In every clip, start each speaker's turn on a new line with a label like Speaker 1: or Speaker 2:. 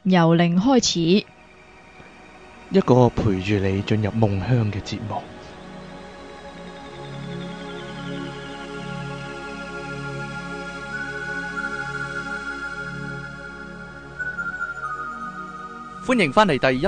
Speaker 1: 由零開始，
Speaker 2: 一個陪住你進入夢鄉嘅節目。歡迎返嚟第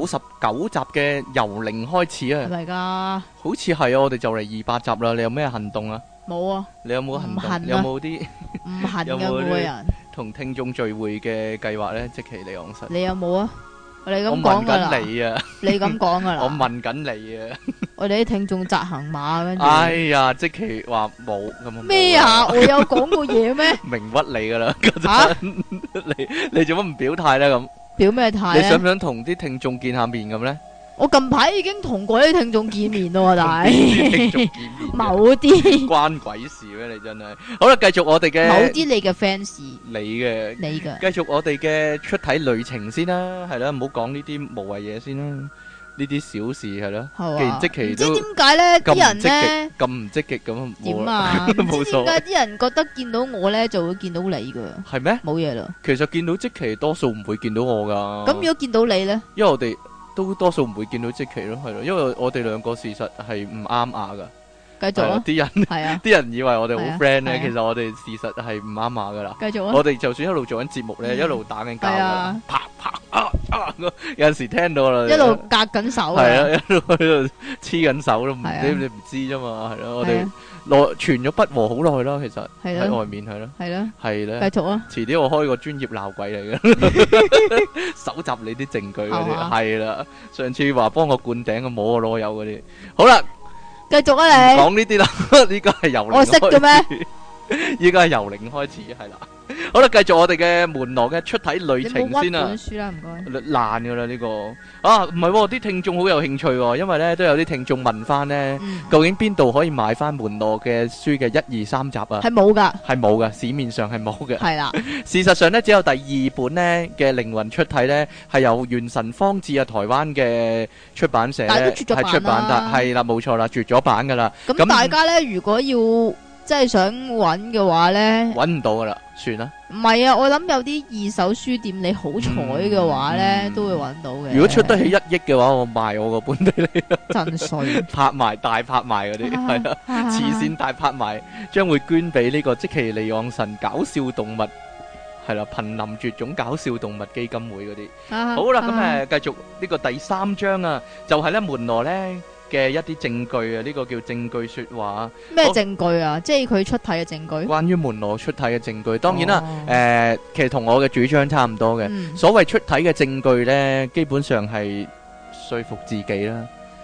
Speaker 2: 199集嘅由零開始啊！
Speaker 1: 係咪噶？
Speaker 2: 好似係啊，我哋就嚟200集啦。你有咩行動啊？
Speaker 1: 冇啊！
Speaker 2: 你有冇行動？
Speaker 1: 唔行啊
Speaker 2: 有冇啲
Speaker 1: 唔行嘅
Speaker 2: 有冇
Speaker 1: 每個人，
Speaker 2: 同聽眾聚會嘅計劃呢？即其你講實，
Speaker 1: 你有冇啊？你咁
Speaker 2: 我問
Speaker 1: 講噶啦，
Speaker 2: 緊你啊！
Speaker 1: 你咁講噶啦，
Speaker 2: 我問緊你啊！
Speaker 1: 我哋啲聽眾扎行馬跟住，
Speaker 2: 哎呀，即其話冇咁啊！
Speaker 1: 咩啊？我有講過嘢咩？
Speaker 2: 明屈你噶啦，嗰
Speaker 1: 吓
Speaker 2: 陣你做乜唔表態呢？咁
Speaker 1: 表咩態
Speaker 2: 你想唔
Speaker 1: 咧？
Speaker 2: 想同啲聽眾見下面咁呢？
Speaker 1: 我近排已經同嗰啲聽眾見面咯，但
Speaker 2: 同啲聽
Speaker 1: 係
Speaker 2: 眾見面
Speaker 1: 某啲
Speaker 2: 關鬼事咩？你真係好啦，繼續我哋嘅
Speaker 1: 某啲你嘅 fans，
Speaker 2: 你嘅。
Speaker 1: 你嘅
Speaker 2: 繼續我哋嘅出體旅程先啦，係啦，唔好講呢啲無謂嘢先啦，呢啲小事係咯。
Speaker 1: 係嘛？
Speaker 2: 既然即
Speaker 1: 唔知
Speaker 2: 期都
Speaker 1: 點解咧？
Speaker 2: 咁唔
Speaker 1: 啲人
Speaker 2: 積極
Speaker 1: 咧，
Speaker 2: 咁唔積極咁，
Speaker 1: 點啊？唔
Speaker 2: 冇所謂
Speaker 1: 知點解啲人覺得見到我咧就會見到你噶，
Speaker 2: 係咩？
Speaker 1: 冇嘢啦。
Speaker 2: 其實見到即期多數唔會見到我噶。
Speaker 1: 咁如果見到你咧，
Speaker 2: 因為我哋都多數唔會見到即期咯，係咯，因為我哋兩個事實係唔啱牙噶。
Speaker 1: 繼續啊，
Speaker 2: 係咯啲人
Speaker 1: 係啊，
Speaker 2: 啲人以為我哋好
Speaker 1: 係啊
Speaker 2: friend 咧，
Speaker 1: 係啊
Speaker 2: 其實我哋事實係唔啱牙噶啦。
Speaker 1: 繼續啊，
Speaker 2: 我哋就算一路做緊節目咧，
Speaker 1: 嗯
Speaker 2: 一路打緊交噶
Speaker 1: 係啊，
Speaker 2: 啪啪有陣時聽到啦，
Speaker 1: 一路隔緊手
Speaker 2: 係
Speaker 1: 啊，
Speaker 2: 啊，一路喺度黐緊手咯，唔
Speaker 1: 係啊
Speaker 2: 知你唔知啫嘛，係咯，我哋
Speaker 1: 係啊
Speaker 2: 傳咗不和好耐啦，其實
Speaker 1: 係咯
Speaker 2: 喺外面係咯，
Speaker 1: 係咯，
Speaker 2: 係咧，
Speaker 1: 繼續啊，
Speaker 2: 遲啲我開個專業鬧鬼嚟嘅，搜集你啲證據嗰啲，
Speaker 1: 係嘛
Speaker 2: 係啦，上次話幫我灌頂，摸我攞油嗰啲，好啦，
Speaker 1: 繼續啊你，
Speaker 2: 講呢啲啦，呢個係由零
Speaker 1: 我識嘅咩？
Speaker 2: 開始？依家係由零開始，係啦。好啦，繼續我哋嘅門羅嘅出體旅
Speaker 1: 你
Speaker 2: 程
Speaker 1: 冇屈
Speaker 2: 先啦
Speaker 1: 本。書啦，唔該。
Speaker 2: 爛噶啦呢個啊，唔係喎，啲聽眾好有興趣喎，因為咧都有啲聽眾問翻咧，
Speaker 1: 嗯，
Speaker 2: 究竟邊度可以買翻門羅嘅書嘅1、2、3集啊？
Speaker 1: 係冇噶，
Speaker 2: 係冇嘅，市面上係冇嘅。
Speaker 1: 係啦，
Speaker 2: 事實上咧，只有第2本咧嘅靈魂出體咧，係由元神方志啊台灣嘅出版社
Speaker 1: 但係
Speaker 2: 咧
Speaker 1: 都絕咗版啦
Speaker 2: 係出版得，係啦，冇錯啦，絕咗版噶啦，
Speaker 1: 咁
Speaker 2: 咁
Speaker 1: 大家咧，如果要即係想揾嘅話咧，
Speaker 2: 揾唔到噶啦，算啦。
Speaker 1: 唔係啊，我諗有啲二手書店，你好彩嘅話咧，
Speaker 2: 嗯
Speaker 1: 都會揾到嘅。
Speaker 2: 如果出得起1億嘅話，我賣我個本俾你，
Speaker 1: 真衰，
Speaker 2: 拍賣大拍賣嗰啲，係啦。慈善大拍賣將會捐俾呢個積淇離岸神搞笑動物係啦，瀕臨絕種搞笑動物基金會嗰啲。
Speaker 1: 啊
Speaker 2: 好啦，
Speaker 1: 啊
Speaker 2: 咁繼續呢個第3章啊，就係咧門羅咧嘅一啲證據啊，呢個叫證據說話，
Speaker 1: 咩
Speaker 2: 好
Speaker 1: 證據啊？即係佢出體嘅證據。
Speaker 2: 關於門羅出體嘅證據。當然啦，
Speaker 1: 哦
Speaker 2: 其實同我嘅主張差唔多嘅。
Speaker 1: 嗯
Speaker 2: 所謂出體嘅證據咧，基本上係說服自己啦，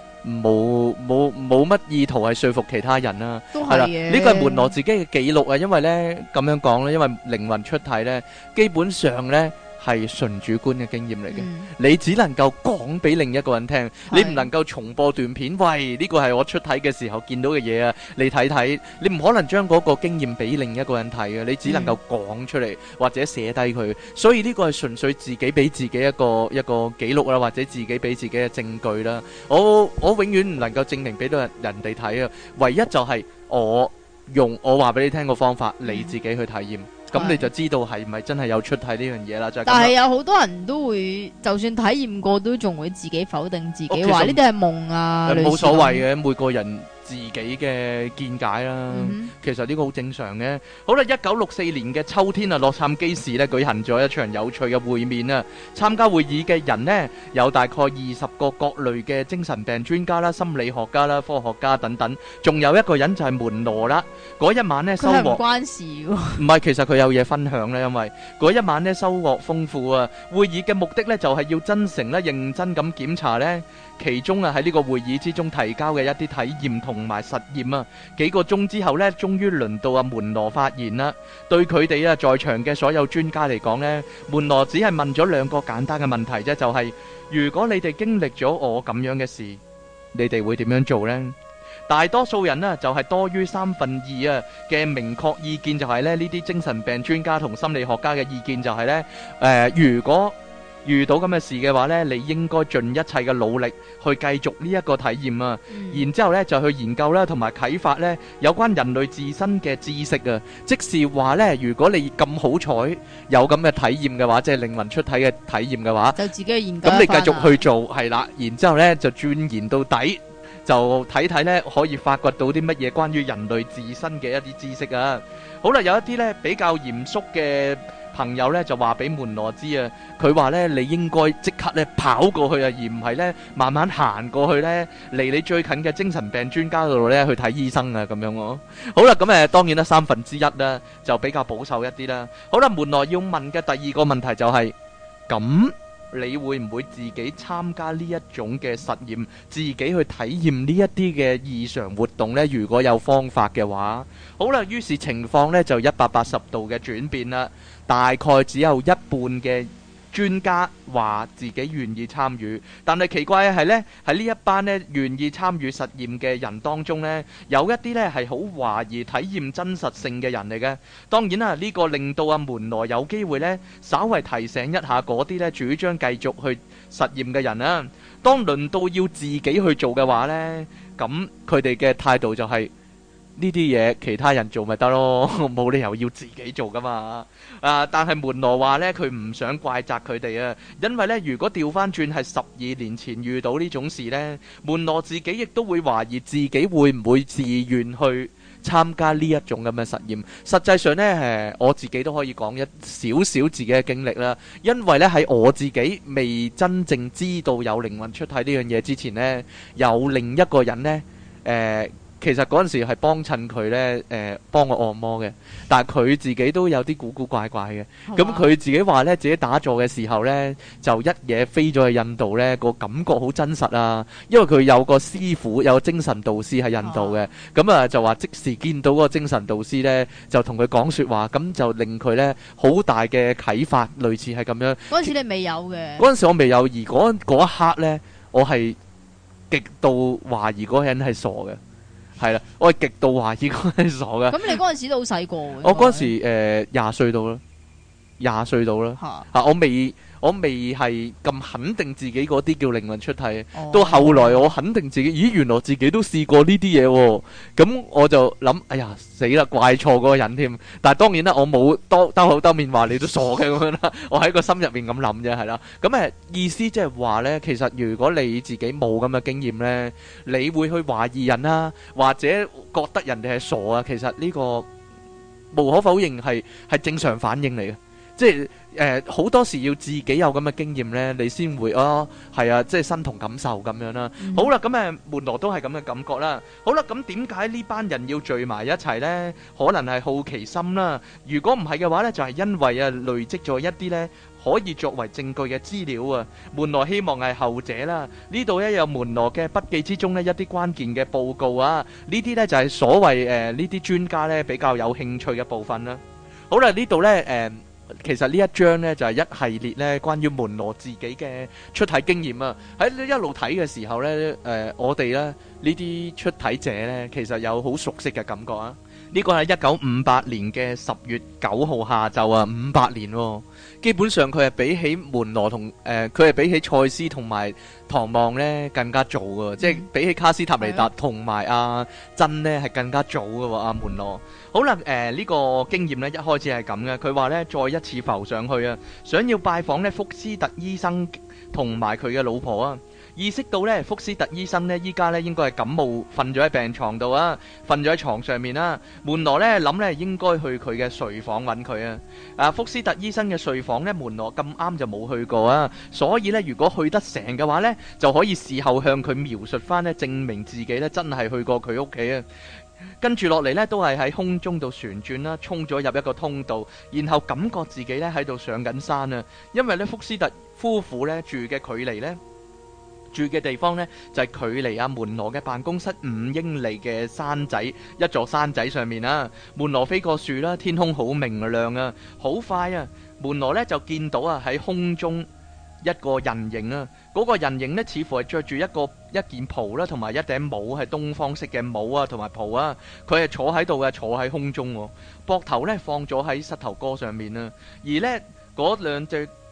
Speaker 2: 冇乜意圖係說服其他人啦。
Speaker 1: 都
Speaker 2: 係啦，
Speaker 1: 係嘅。
Speaker 2: 呢個係門羅自己嘅記錄啊，因為咧咁樣講咧，因為靈魂出體咧，基本上咧係純主觀嘅經驗嚟嘅，
Speaker 1: 嗯
Speaker 2: 你只能夠講俾另一個人聽，你
Speaker 1: 係
Speaker 2: 唔能夠重播段片，喂，呢個係我出體嘅時候見到嘅嘢啊，你睇睇，你唔可能將嗰個經驗俾另一個人睇嘅，你只能夠講出嚟或者寫低佢，所以呢個係純粹自己俾自己一個記錄啦，或者自己俾自己嘅證據啦。我永遠唔能夠證明俾到人哋睇啊，唯一就係我話俾你聽個方法，你自己去體驗，咁
Speaker 1: 係
Speaker 2: 你就知道係咪真係有出體呢樣嘢啦。就係咁
Speaker 1: 但係
Speaker 2: 啦。
Speaker 1: 有好多人都會，就算體驗過，都仲會自己否定自己，
Speaker 2: 哦其實
Speaker 1: 話呢啲係夢啊，類似
Speaker 2: 冇所謂
Speaker 1: 咁。
Speaker 2: 嘅，每個人自己嘅見解啦。
Speaker 1: 嗯
Speaker 2: 其實呢個好正常嘅。好啦，1964年嘅秋天啊，洛杉磯市呢舉行咗一場有趣嘅會面啊。參加會議嘅人呢，有大概20個各類嘅精神病專家啦、心理學家啦、科學家等等，仲有一個人就係門羅啦。嗰一晚呢，收
Speaker 1: 佢係唔
Speaker 2: 穫
Speaker 1: 關事喎。
Speaker 2: 唔係，其實佢有嘢分享咧，因為嗰一晚呢，收穫豐富啊。會議嘅目的呢，就係要真誠咧、認真咁檢查呢。其中啊喺呢個會議之中提交嘅一啲體驗同埋實驗啊，幾個鐘之後呢，終於輪到阿門羅發言啦。對佢哋啊在場嘅所有專家嚟講呢，門羅只係問咗2個簡單嘅問題啫，就係如果你哋經歷咗我咁樣嘅事，你哋會點樣做呢？大多數人呢，就係多於2/3啊嘅明確意見就係咧，呢啲精神病專家同心理學家嘅意見就係呢：如果遇到咁嘅事嘅話呢，你應該盡一切嘅努力去繼續呢一個體驗啊。然之後呢，就去研究啦，同埋啟發呢有關人類自身嘅知識啊。即是話呢，如果你咁好彩有咁嘅體驗嘅話，即係靈魂出體嘅體驗嘅話，
Speaker 1: 就自己去研究一番啊。
Speaker 2: 咁你繼續去做係啦，然之後呢就鑽研到底，就睇睇呢可以發掘到啲乜嘢關於人類自身嘅一啲知識啊。好啦，有一啲呢比較嚴肅嘅朋友呢就話俾門羅知啊，佢話呢你應該即刻呢跑過去啊，而唔係呢慢慢行過去呢離你最近嘅精神病專家度呢去睇醫生啊，咁樣喎。好啦，咁當然啦1/3啦就比較保守一啲啦。好啦，門羅要問嘅第二個問題就係咁。你會唔會自己參加呢一種嘅實驗，自己去體驗呢一啲嘅異常活動呢？如果有方法嘅話，好啦，於是情況呢就180度嘅轉變啦。大概只有一半嘅專家話自己願意參與，但係奇怪嘅係呢，喺呢一班呢願意參與實驗嘅人當中呢，有一啲呢係好懷疑體驗真實性嘅人嚟嘅。當然啦，呢個令到阿門羅有機會呢，稍為提醒一下嗰啲呢主張繼續去實驗嘅人啦。當輪到要自己去做嘅話呢，咁佢哋嘅態度就係呢啲嘢其他人做咪得咯，冇理由要自己做噶嘛。但係門羅話呢，佢唔想怪責佢哋啊，因為呢，如果調翻轉係12年前遇到呢種事呢，門羅自己亦都會懷疑自己會唔會自願去參加呢一種咁嘅實驗。實際上呢，我自己都可以講一少少自己嘅經歷啦，因為呢，喺我自己未真正知道有靈魂出體呢樣嘢之前呢，有另一個人呢。其實嗰陣時係幫襯佢呢，幫我按摩嘅，但係佢自己都有啲古古怪怪嘅。咁佢自己話呢，自己打坐嘅時候呢，就一嘢飛咗去印度呢，個感覺好真實啊！因為佢有個師傅，有個精神導師喺印度嘅，咁就話即時見到嗰個精神導師呢，就同佢講説話，咁就令佢呢好大嘅啟發，類似係咁樣。
Speaker 1: 嗰陣時你未有嘅。
Speaker 2: 嗰陣時我未有，而嗰一刻呢，我係極度懷疑嗰個人係傻嘅。係啦，我係極度懷疑嗰係傻嘅。
Speaker 1: 咁你嗰陣時都好細個嘅。
Speaker 2: 我嗰陣時20歲到啦，20歲到啦。我未係咁肯定自己嗰啲叫靈魂出體。到後來我肯定自己，咦，原來自己都試過呢啲嘢喎。咁我就諗，哎呀死啦，怪錯嗰個人添。但係當然啦，我冇兜口兜面話你都傻嘅咁樣啦。我喺個心入面咁諗啫，係啦。咁意思即係話呢，其實如果你自己冇咁嘅經驗呢，你會去懷疑人啦，或者覺得人哋係傻啊。其實呢個無可否認係正常反應嚟嘅。即係好多時要自己有咁嘅經驗呢，你先會係啊，即係身同感受咁樣啦。好啦，咁門羅都係咁嘅感覺啦。好啦，咁點解呢班人要聚埋一齊呢？可能係好奇心啦。如果唔係嘅話呢，就係因為累積咗一啲呢可以作為證據嘅資料啊。門羅希望係後者啦。呢度有門羅嘅筆記之中呢一啲關鍵嘅報告啊。呢啲呢就係所謂呢啲專家呢比較有興趣嘅部分啦。好啦，呢度呢其實呢一章呢，就係一系列呢關於門羅自己嘅出體經驗啊！喺一路睇嘅時候呢，我哋呢啲出體者呢，其實有好熟悉嘅感覺啊！呢個係1958年嘅10月9號下晝啊，58年喎。基本上佢係比起門羅同佢係比起賽斯同埋唐望呢更加早嘅，即係比起卡斯塔尼達同埋阿珍呢係更加早嘅喎。阿門羅好啦，呢個經驗呢一開始係咁嘅，佢話呢再一次浮上去啊，想要拜訪呢福斯特醫生同埋佢嘅老婆啊。意識到呢福斯特醫生呢依家呢應該係感冒，瞓咗喺病床度啊，瞓咗喺床上面啦。門羅呢諗呢應該去佢嘅睡房揾佢啊。福斯特醫生嘅睡房呢，門羅咁啱就冇去過啊，所以呢如果去得成嘅話呢，就可以事後向佢描述翻呢，證明自己呢真係去過佢屋企啊。跟住落嚟呢，都係喺空中度旋轉啦，衝咗入一個通道，然後感覺自己呢喺度上緊山啊。因為呢福斯特夫婦呢住嘅距離呢，住嘅地方呢，就係距離阿門羅嘅辦公室5英里嘅山仔，一座山仔上面啊。門羅飛過樹啦，天空好明亮啊，好快啊。門羅呢就見到啊喺空中一個人形啊，嗰個人形呢似乎係着住一件袍啦，同埋一頂帽係東方式嘅帽啊，同埋袍啊。佢係坐喺度嘅，坐喺空中，膊頭呢放咗喺膝頭哥上面啊。而呢嗰兩隻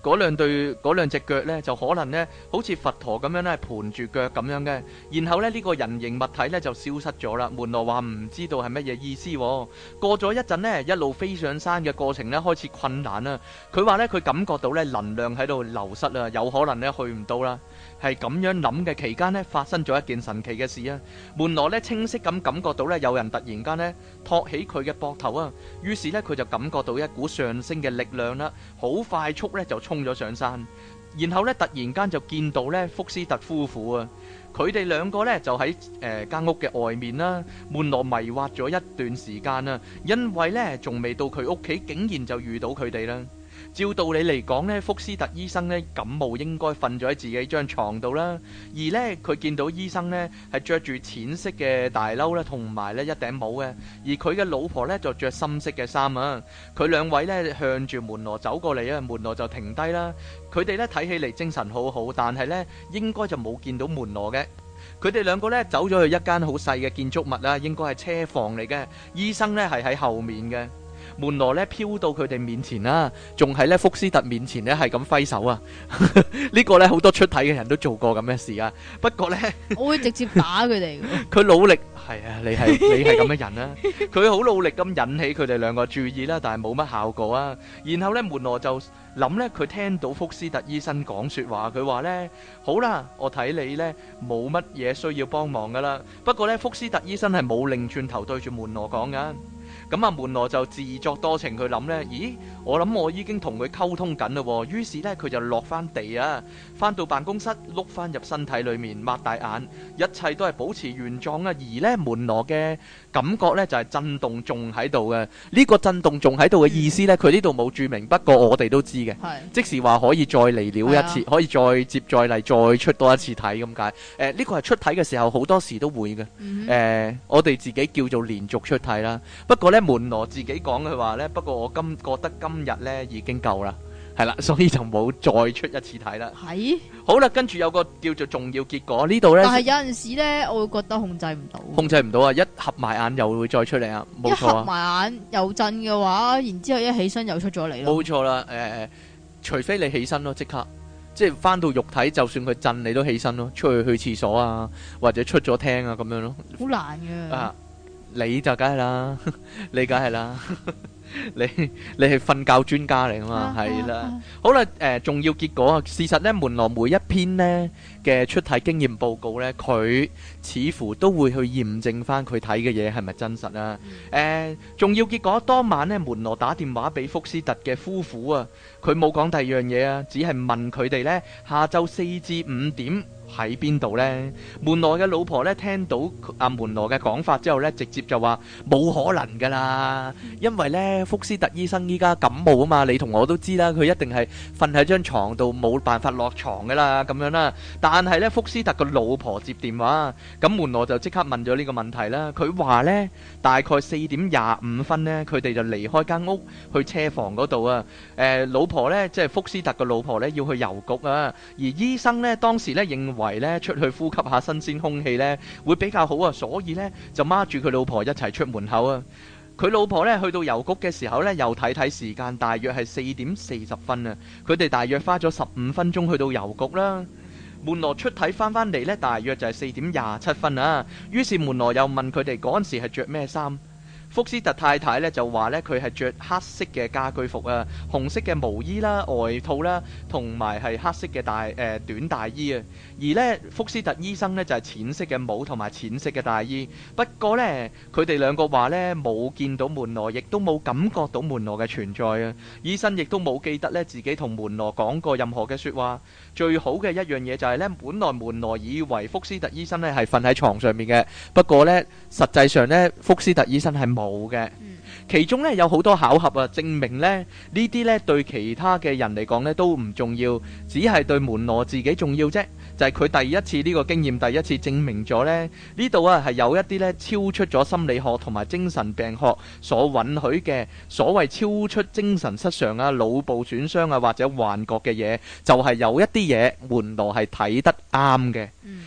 Speaker 2: 嗰兩隻腳呢，就可能呢好似佛陀咁樣咧盤住腳咁樣嘅，然後呢，呢個人形物體呢就消失咗啦。門羅話唔知道係乜嘢意思喎。過咗一陣呢，一路飛上山嘅過程呢開始困難啦。佢話呢，佢感覺到呢能量喺度流失啦，有可能呢去唔到啦。係咁樣諗嘅期間呢，發生咗一件神奇嘅事啊！門羅呢清晰咁感覺到呢有人突然間呢托起佢嘅膊頭啊，於是呢，佢就感覺到一股上升嘅力量啦，好快速呢就衝咗上山，然後呢，突然間就見到呢福斯特夫婦啊，佢哋兩個呢就喺間屋嘅外面啦。門羅迷惑咗一段時間啊，因為呢仲未到佢屋企，竟然就遇到佢哋啦。照道理嚟講呢，福斯特醫生呢感冒應該瞓咗喺自己張床度啦，而呢，佢見到醫生呢係着住淺色嘅大褸啦，同埋呢一頂帽嘅，而佢嘅老婆呢就着深色嘅衫啊。佢兩位呢向住門羅走過嚟啊，門羅就停低啦。佢哋呢睇起嚟精神好好，但係呢應該就冇見到門羅嘅。佢哋兩個呢走咗去一間好細嘅建築物啦，應該係車房嚟嘅。醫生呢係喺後面嘅。門羅咧飄到佢哋面前啦，仲喺咧福斯特面前咧係咁揮手啊！呢個咧好多出體嘅人都做過咁嘅事啊。不過咧，
Speaker 1: 我會直接打佢哋嘅。
Speaker 2: 佢努力係啊，你係咁嘅人啦。佢好努力咁引起佢哋兩個注意啦，但係冇乜效果啊。然後咧，門羅就諗咧，佢聽到福斯特醫生講說話，佢話咧：好啦，我睇你咧冇乜嘢需要幫忙噶啦。不過咧，福斯特醫生係冇擰轉頭對住門羅講噶。咁啊，門羅就自作多情，佢諗呢，咦，我諗我已經同佢溝通緊啦喎。於是呢，佢就落翻地啊，翻到辦公室，碌翻入身體裏面，擘大眼，一切都係保持原狀啊。而呢，門羅嘅感覺呢，就係震動仲喺度嘅。呢個震動仲喺度嘅意思呢，佢呢度冇註明，不過我哋都知嘅，即是話可以再嚟了一次，可以再接再厲，再出多一次體咁解。呢個係出體嘅時候好多時都會嘅。我哋自己叫做連續出體啦。不過呢，門羅自己講佢話呢，不過我覺得今日呢已經夠啦，係啦，所以就冇再出一次體啦。係好啦，跟住有個叫做重要結果呢度呢，但係有陣時呢，我會覺得控制唔到，控制唔到啊！一合埋眼又會再出嚟啊，冇錯啊！一合埋眼又震嘅話，然之後一起身又出咗嚟咯。冇錯啦，除非你起身咯，即刻即係翻到肉體，就算佢震你都起身咯，出去廁所啊，或者出咗廳啊咁樣咯，好難嘅啊！你就梗係啦，你梗係啦，你係瞓覺專家嚟噶嘛，係啦。好啦，重要結果啊，事實呢，門羅每一篇呢嘅出體經驗報告呢，佢似乎都會去驗證翻佢睇嘅嘢係咪真實啊。重要結果當晚呢，門羅打電話俾福斯特嘅夫婦啊，佢冇講第二樣嘢啊，只係問佢哋呢下晝4至5點喺邊度呢？門羅嘅老婆呢聽到阿門羅嘅講法之後呢，直接就話冇可能噶啦，因為呢福斯特醫生依家感冒啊嘛，你同我都知啦，佢一定係瞓喺張床度冇辦法落床噶啦，咁樣啦。但係呢福斯特個老婆接電話，咁門羅就即刻問咗呢個問題啦。佢話呢大概4點25分呢，佢哋就離開間屋去車房嗰度啊。老婆呢即係福斯特個老婆呢要去郵局啊，而醫生呢當時呢認為咧出去呼吸下新鮮空氣咧會比較好啊，所以咧就孖住佢老婆一齊出門口啊。佢老婆咧去到郵局嘅時候咧，又睇睇時間，大約係4點40分啊。佢哋大約花咗15分鐘去到郵局啦。門羅出體翻嚟咧，大約就係4點27分啊。於是門羅又問佢哋嗰陣時係着咩衫。福斯特太太咧就話咧佢係着黑色嘅家居服啊，紅色嘅毛衣啦、外套啦，同埋係黑色嘅短大衣啊。而咧福斯特醫生咧就係淺色嘅帽同埋淺色嘅大衣。不過咧佢哋兩個話咧冇見到門羅，亦都冇感覺到門羅嘅存在啊。醫生亦都冇記得咧自己同門羅講過任何嘅說話。最好嘅一樣嘢就係咧，本來門羅以為福斯特醫生咧係瞓喺床上面嘅，不過咧實際上咧福斯特醫生係冇嘅。其中咧有好多巧合啊，證明咧呢啲咧對其他嘅人嚟講咧都唔重要，只係對門羅自己重要啫。就係佢第一次呢個經驗，第一次證明咗咧呢度啊係有一啲咧超出咗心理學同埋精神病學所允許嘅所謂超出精神失常啊、腦部損傷啊或者幻覺嘅嘢，就係有一啲嘢門羅係睇得啱嘅。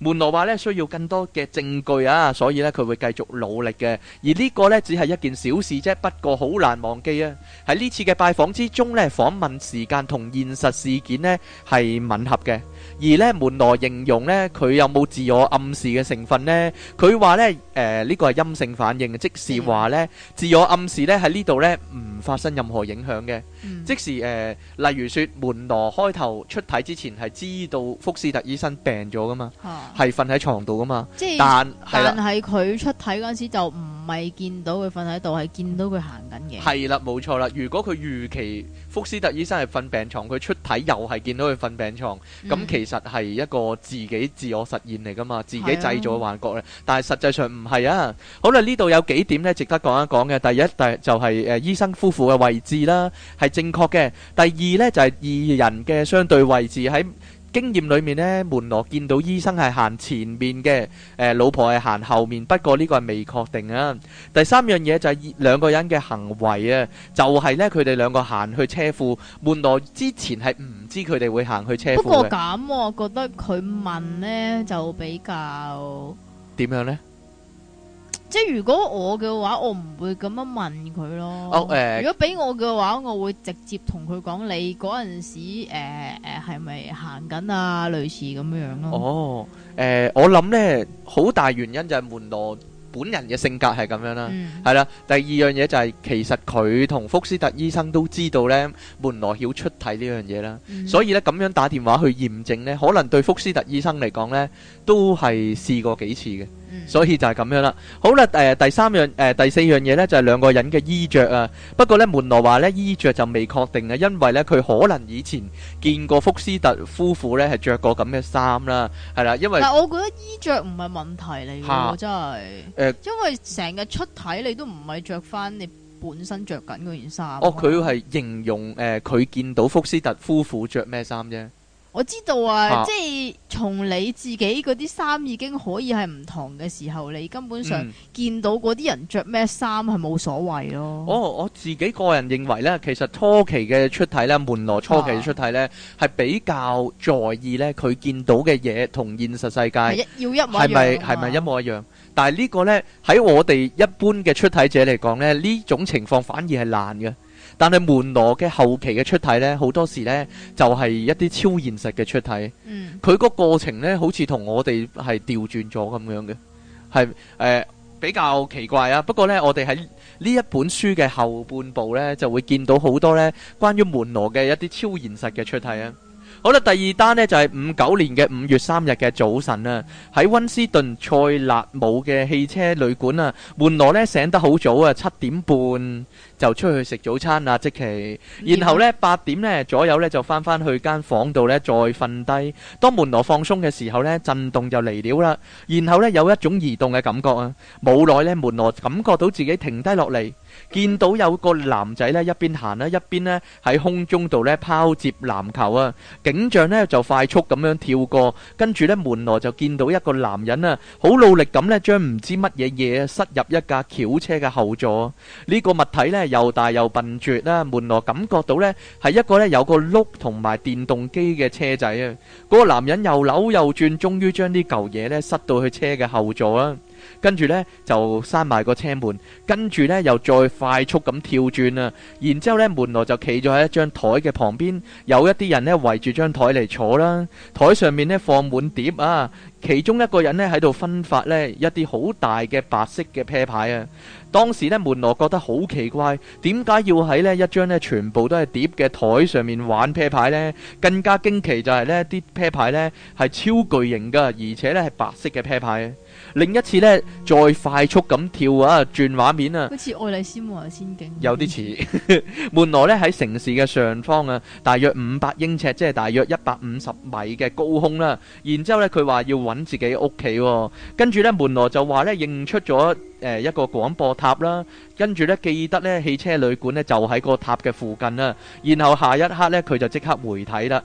Speaker 2: 門羅話咧需要更多嘅證據啊，所以咧佢會繼續努力嘅。而呢個咧只係一件小事啫，不過好難忘記啊！喺呢次嘅拜訪之中咧，訪問時間同現實事件咧係吻合嘅。而咧門羅形容咧佢有冇自我暗示嘅成分呢？佢話咧呢個係陰性反應，即是話咧自我暗示咧喺呢度咧唔發生任何影響嘅。即是例如說門羅開頭出體之前係知道福斯特醫生病咗噶嘛，係瞓喺床度噶嘛，但係
Speaker 1: 佢出體嗰陣時就唔係見到佢瞓喺度，係見到佢行緊嘅。
Speaker 2: 係啦，冇錯啦。如果佢預期福斯特醫生係瞓病床，佢出體又係見到佢瞓病床，咁其實係一個自己自我實現嚟噶嘛，自己製造嘅幻覺咧。但係實際上唔係啊。好啦，呢度有幾點咧值得講一講嘅。第一，就係醫生夫婦嘅位置啦，係正確嘅。第二咧就係二人嘅相對位置。喺經驗裏面呢，門羅見到醫生係行前面嘅，老婆係行後面，不過呢個係未確定啊。第三樣嘢就係兩個人嘅行為啊，就係呢，佢哋兩個行去車庫，門羅之前係唔知佢哋會行去車庫嘅。
Speaker 1: 不過咁，我覺得佢問呢就比較
Speaker 2: 點樣呢？
Speaker 1: 即係如果我嘅話，我唔會咁樣問佢咯。如果俾我嘅話，我會直接同佢講，你嗰陣時係咪行緊啊？類似咁樣咯。
Speaker 2: 我諗呢，好大原因就係門羅本人嘅性格係咁樣啦，係啦。第二樣嘢就係其實佢同福斯特醫生都知道呢，門羅曉出體呢樣嘢啦，所以呢，咁樣打電話去驗證呢，可能對福斯特醫生嚟講呢，都係試過幾次嘅。所以就係咁樣啦。好啦，第四樣嘢呢，就係兩個人嘅衣着啊。不過呢，門羅話呢，衣着就未確定啊，因為呢，佢可能以前見過福斯特夫婦呢係着過咁嘅衫啦，係啦。因為但
Speaker 1: 係我覺得衣着唔係問題嚟嘅，真係因為成日出體你都唔係着翻你本身着緊嗰件衫。
Speaker 2: 佢係形容佢見到福斯特夫婦着咩衫啫。
Speaker 1: 我知道啊，即係從你自己嗰啲衫已經可以係唔同嘅時候，你根本上見到嗰啲人着咩衫係冇所謂咯。
Speaker 2: 我自己個人認為呢，其實初期嘅出體呢，門羅初期嘅出體呢，係比較在意呢，佢見到嘅嘢同現實世界
Speaker 1: 要一模一樣，
Speaker 2: 係咪一模一樣？但係呢個呢，喺我哋一般嘅出體者嚟講呢，呢種情況反而係難嘅。但係門羅嘅後期嘅出體呢，好多時呢就係一啲超現實嘅出體。佢個過程呢，好似同我哋係調轉咗咁樣嘅，係比較奇怪啊。不過呢，我哋喺呢一本書嘅後半部呢，就會見到好多呢關於門羅嘅一啲超現實嘅出體啊。好啦，第二單呢就係59年嘅5月3日嘅早晨啊，喺溫斯頓塞勒姆嘅汽車旅館啊，門羅呢醒得好早啊，7點半就出去食早餐啦，即期，然後呢8點呢左右呢就翻去間房度呢再瞓低。當門羅放鬆嘅時候呢，震動就嚟了啦，然後呢有一種移動嘅感覺啊，冇耐呢門羅感覺到自己停低落嚟，見到有個男仔呢一邊行啦，一邊呢喺空中度呢拋接籃球啊。景象呢就快速咁樣跳過，跟住呢門羅就見到一個男人啊，好努力咁呢將唔知乜嘢嘢塞入一架轎車嘅後座。呢個物體呢又大又笨拙啦，門羅感覺到呢係一個呢有個轆同埋電動機嘅車仔啊。嗰個男人又扭又轉，終於將呢嚿嘢呢塞到去車嘅後座啊。跟住呢就閂埋個車門，跟住呢又再快速咁跳轉啊！然之後呢門羅就企咗喺一張台嘅旁邊，有一啲人呢圍住張台嚟坐啦，台上面呢放滿碟啊，其中一個人呢喺度分發呢一啲好大嘅白色嘅啤牌啊！當時呢門羅覺得好奇怪，點解要喺呢一張呢全部都係碟嘅台上面玩啤牌呢？更加驚奇就係呢啲啤牌呢係超巨型噶，而且呢係白色嘅啤牌。另一次呢再快速咁跳啊，轉畫面啊，
Speaker 1: 好似愛麗絲夢遊仙境，
Speaker 2: 有啲似。門羅呢喺城市嘅上方啊，大約500英尺，即係大約150米嘅高空啦。然之後呢佢話要揾自己屋企，跟住呢門羅就話呢認出咗一個廣播塔啦，跟住呢記得呢汽車旅館呢就喺個塔嘅附近啦。然後下一刻呢佢就即刻回體啦。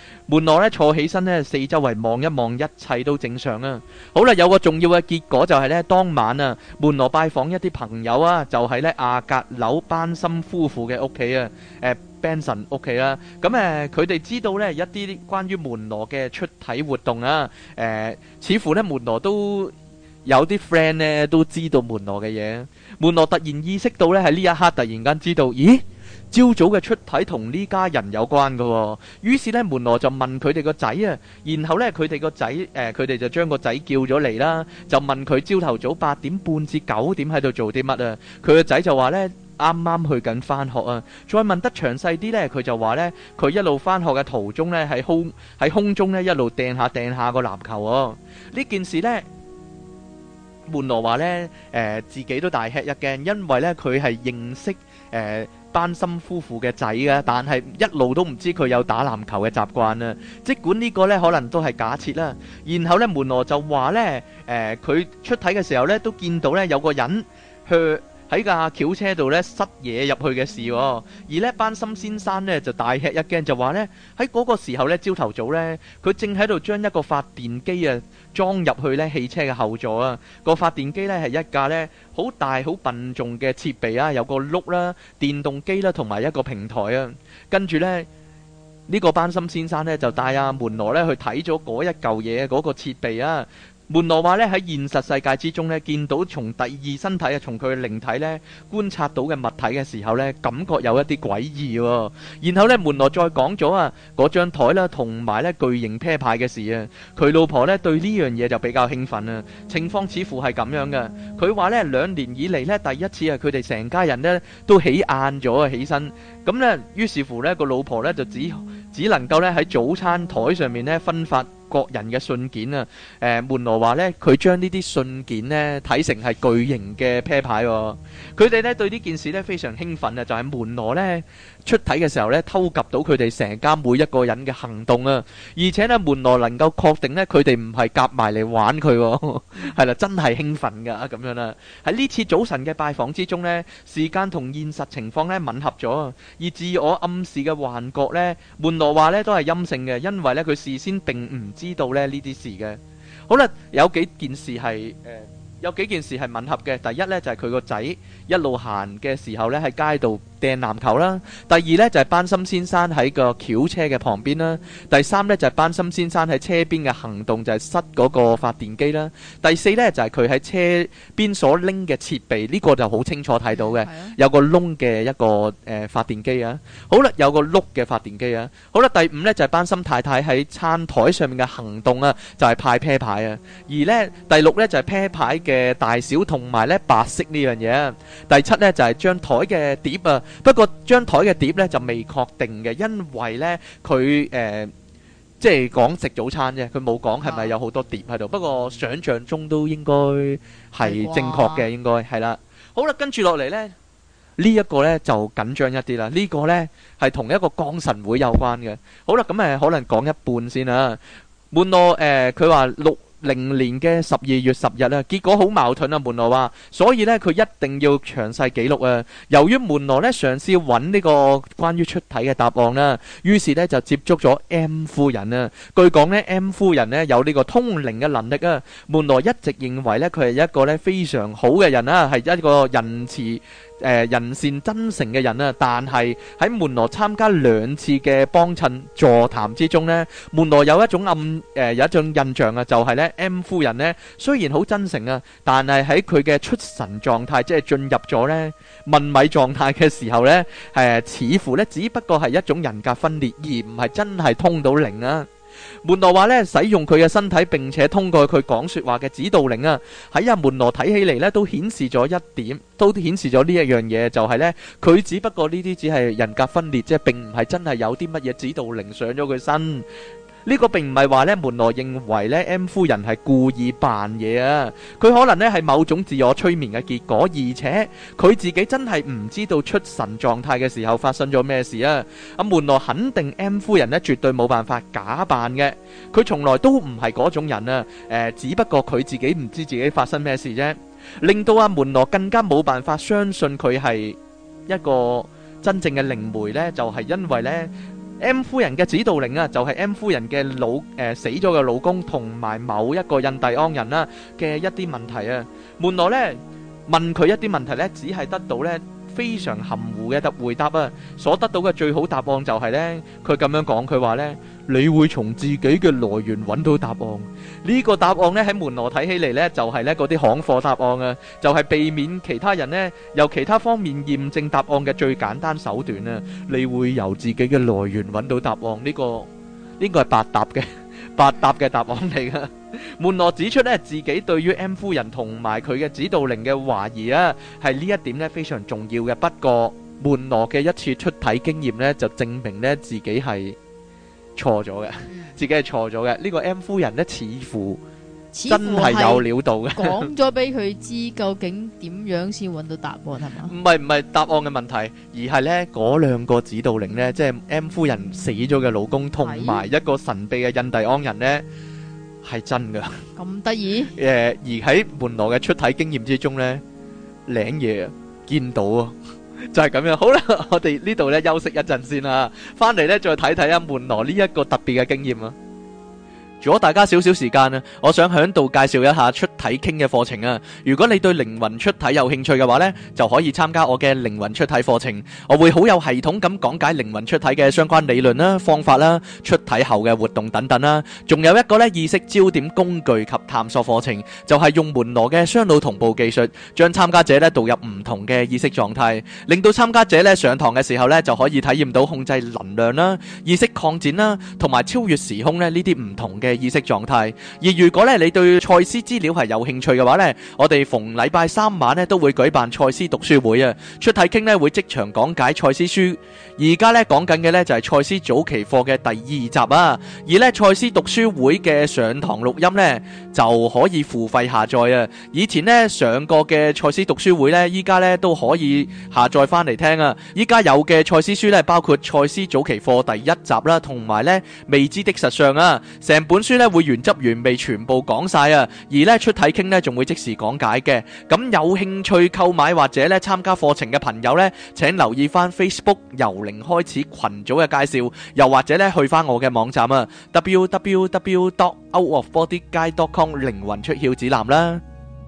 Speaker 2: 門羅咧坐起身咧，四周圍望一望，一切都正常啊。好啦，有個重要嘅結果就係咧，當晚啊，門羅拜訪一啲朋友啊，就係咧亞格樓班森夫婦嘅屋企啊，Benson 屋企啦。咁佢哋知道咧一啲關於門羅嘅出體活動啊，似乎咧門羅都有啲 friend 咧都知道門羅嘅嘢。門羅突然意識到咧喺呢一刻突然間知道，咦？朝早嘅出體同呢家人有關嘅喎，於是咧門羅就問佢哋個仔啊，然後咧佢哋個仔佢哋就將個仔叫咗嚟啦，就問佢朝頭早8點半至9點喺度做啲乜啊？佢個仔就話咧啱啱去緊返學啊，再問得詳細啲咧，佢就話咧佢一路返學嘅途中咧喺空中咧一路掟下個籃球喎。呢件事咧門羅話咧自己都大吃一驚，因為咧佢係認識班森夫婦嘅仔嘅，但係一路都唔知佢有打籃球嘅習慣啊。即管呢個呢可能都係假設啦。然後呢門羅就話呢，佢出體嘅時候呢都見到呢有個人去喺架轎車度呢塞嘢入去嘅事，而呢班森先生呢就大吃一驚，就話呢喺嗰個時候呢朝頭早呢佢正喺度將一個發電機啊裝入去呢汽車嘅後座啊。個發電機呢係一架呢好大好笨重嘅設備啊，有個轆啦、電動機啦同埋一個平台啊。跟住呢呢個班森先生呢就帶阿門羅呢去睇咗嗰一嚿嘢嗰個設備啊。門羅話咧喺現實世界之中咧，見到從第二身體啊，從佢嘅靈體咧觀察到嘅物體嘅時候咧，感覺有一啲詭異喎。然後咧，門羅再講咗啊，嗰張台啦，同埋咧巨型啤牌嘅事啊。佢老婆咧對呢樣嘢就比較興奮啊。情況似乎係咁樣嘅。佢話咧2年以嚟咧第一次啊，佢哋成家人咧都起晏咗啊，起身。咁咧，於是乎咧個老婆咧就只能夠咧喺早餐台上面咧分發各人嘅信件啊。門羅話咧，佢將呢啲信件咧睇成係巨型嘅啤牌喎。佢哋咧對呢件事咧非常興奮啊，就係門羅咧出體嘅時候咧偷及到佢哋成家每一個人嘅行動啊，而且咧門羅能夠確定咧佢哋唔係夾埋嚟玩佢，係啦，真係興奮噶咁樣啦。喺呢次早晨嘅拜訪之中咧，時間同現實情況咧吻合咗，而自我暗示嘅幻覺咧，門羅話咧都係陰性嘅，因為咧佢事先並唔知道咧呢啲事嘅。好啦，有幾件事係吻合嘅。第一呢，就係佢個仔一路行嘅時候呢，喺街度掟籃球啦。第二呢，就係班森先生喺個轎車嘅旁邊啦。第三呢，就係班森先生喺車邊嘅行動，就係塞嗰個發電機啦。第四呢，就係佢喺車邊所拎嘅設備，呢個就好清楚睇到嘅，有個窿嘅一個發電機啊。好啦，有個碌嘅發電機啊。好啦，第五呢，就係班森太太喺餐台上面嘅行動啊，就係派啤牌啊。而呢，第六呢，就係啤牌嘅大小同埋咧白色呢樣嘢。第七呢，就係張台嘅碟啊，不過張台嘅碟呢，就未確定嘅，因為呢，佢即係講食早餐啫，佢冇講係咪有好多碟喺度。不過想象中都應該係正確嘅，應該係啦。好啦，跟住落嚟呢，呢一個呢就緊張一啲啦。呢個呢係同一個降神會有關嘅。好啦，咁可能講一半先啦。門羅佢話60年嘅12月10日啊，結果好矛盾啊。門羅話，所以呢，佢一定要詳細記錄啊。由於門羅呢嘗試揾呢個關於出體嘅答案啦，於是呢就接觸咗 M 夫人啊。據講呢 M 夫人呢有呢個通靈嘅能力啊。門羅一直認為呢，佢係一個呢非常好嘅人啦，係一個仁慈人善真誠嘅人啊。但係喺門羅參加2次嘅幫襯座談之中呢，門羅有一種有一種印象啊，就係呢 M 夫人呢雖然好真誠啊，但係喺佢嘅出神狀態，即係進入咗呢問米狀態嘅時候呢，似乎呢只不過係一種人格分裂，而唔係真係通到靈啊。門羅話呢，使用佢嘅身體並且通過佢講說話嘅指導靈啊，喺阿門羅睇起嚟呢都顯示咗一點，都顯示咗呢一樣嘢，就係呢，佢只不過呢啲只係人格分裂，即係並唔係真係有啲乜嘢指導靈上咗佢身。呢個並唔係話呢，門羅認為呢 M 夫人係故意扮嘢啊，佢可能呢係某種自我催眠嘅結果，而且佢自己真係唔知道出神狀態嘅時候發生咗咩事啊。阿門羅肯定 M 夫人呢絕對冇辦法假扮嘅，佢從來都唔係嗰種人啊。只不過佢自己唔知自己發生咩事啫，令到阿門羅更加冇辦法相信佢係一個真正嘅靈媒呢，就係因為呢 M 夫人嘅指導靈啊，就係 M 夫人嘅死咗嘅老公同埋某一個印第安人啦嘅一啲問題啊。門羅呢問佢一啲問題呢，只係得到呢非常含糊嘅回答啊。所得到嘅最好答案就係呢，佢咁樣講，佢話呢，你會從自己嘅來源揾到答案。呢個答案呢喺門羅睇起嚟呢，就係呢嗰啲行貨答案啊，就係避免其他人呢由其他方面驗證答案嘅最簡單手段啊。你會由自己嘅來源揾到答案，呢個係百搭嘅答案嚟噶。門羅指出呢，自己對於 M 夫人同埋佢嘅指導靈嘅懷疑啊，係呢一點呢非常重要嘅。不過門羅嘅一次出體經驗呢，就證明呢自己係錯咗嘅，自己係錯咗嘅。呢個 M 夫人呢，似乎真係有料到嘅，
Speaker 1: 講咗俾佢知究竟點樣先揾到答案係嘛？
Speaker 2: 唔係答案嘅問題，而係呢嗰兩個指導靈呢，即係 M 夫人死咗嘅老公同埋一個神秘嘅印第安人呢，係真噶。
Speaker 1: 咁得意？
Speaker 2: 而喺門羅嘅出體經驗之中呢，領嘢見到啊，就係咁樣。好啦，我哋呢度呢休息一陣先啦，翻嚟呢再睇睇啊門羅呢一個特別嘅經驗啊。如果大家少少時間啊，我想喺度介紹一下出體傾嘅課程啊。如果你對靈魂出體有興趣嘅話呢，就可以參加我嘅靈魂出體課程。我會好有系統咁講解靈魂出體嘅相關理論啦、方法啦、出體後嘅活動等等啦。仲有一個呢意識焦點工具及探索課程，就係用門羅嘅雙腦同步技術，將參加者呢導入唔同嘅意識狀態，令到參加者呢上堂嘅時候呢就可以體驗到控制能量啦、意識擴展啦，同埋超越時空呢啲唔同嘅意識狀態。而如果咧你對賽斯資料係有興趣嘅話呢，我哋逢禮拜三晚呢都會舉辦賽斯讀書會啊。出體傾呢會即場講解賽斯書。而家呢講緊嘅呢就係賽斯早期課嘅第2集啊。而呢賽斯讀書會嘅上堂錄音呢就可以付費下載啊。以前呢上過嘅賽斯讀書會呢，依家呢都可以下載翻嚟聽啊。依家有嘅賽斯書呢，包括賽斯早期課第1集啦，同埋呢未知的實相啊。成本書呢會原汁原味全部講晒啊，而呢出體傾呢仲會即時講解嘅。咁有興趣購買或者呢參加課程嘅朋友呢，請留意翻 Facebook 由零開始群組嘅介紹，又或者呢去翻我嘅網站啊 www.outofbodyguide.com 靈魂出竅指南啦。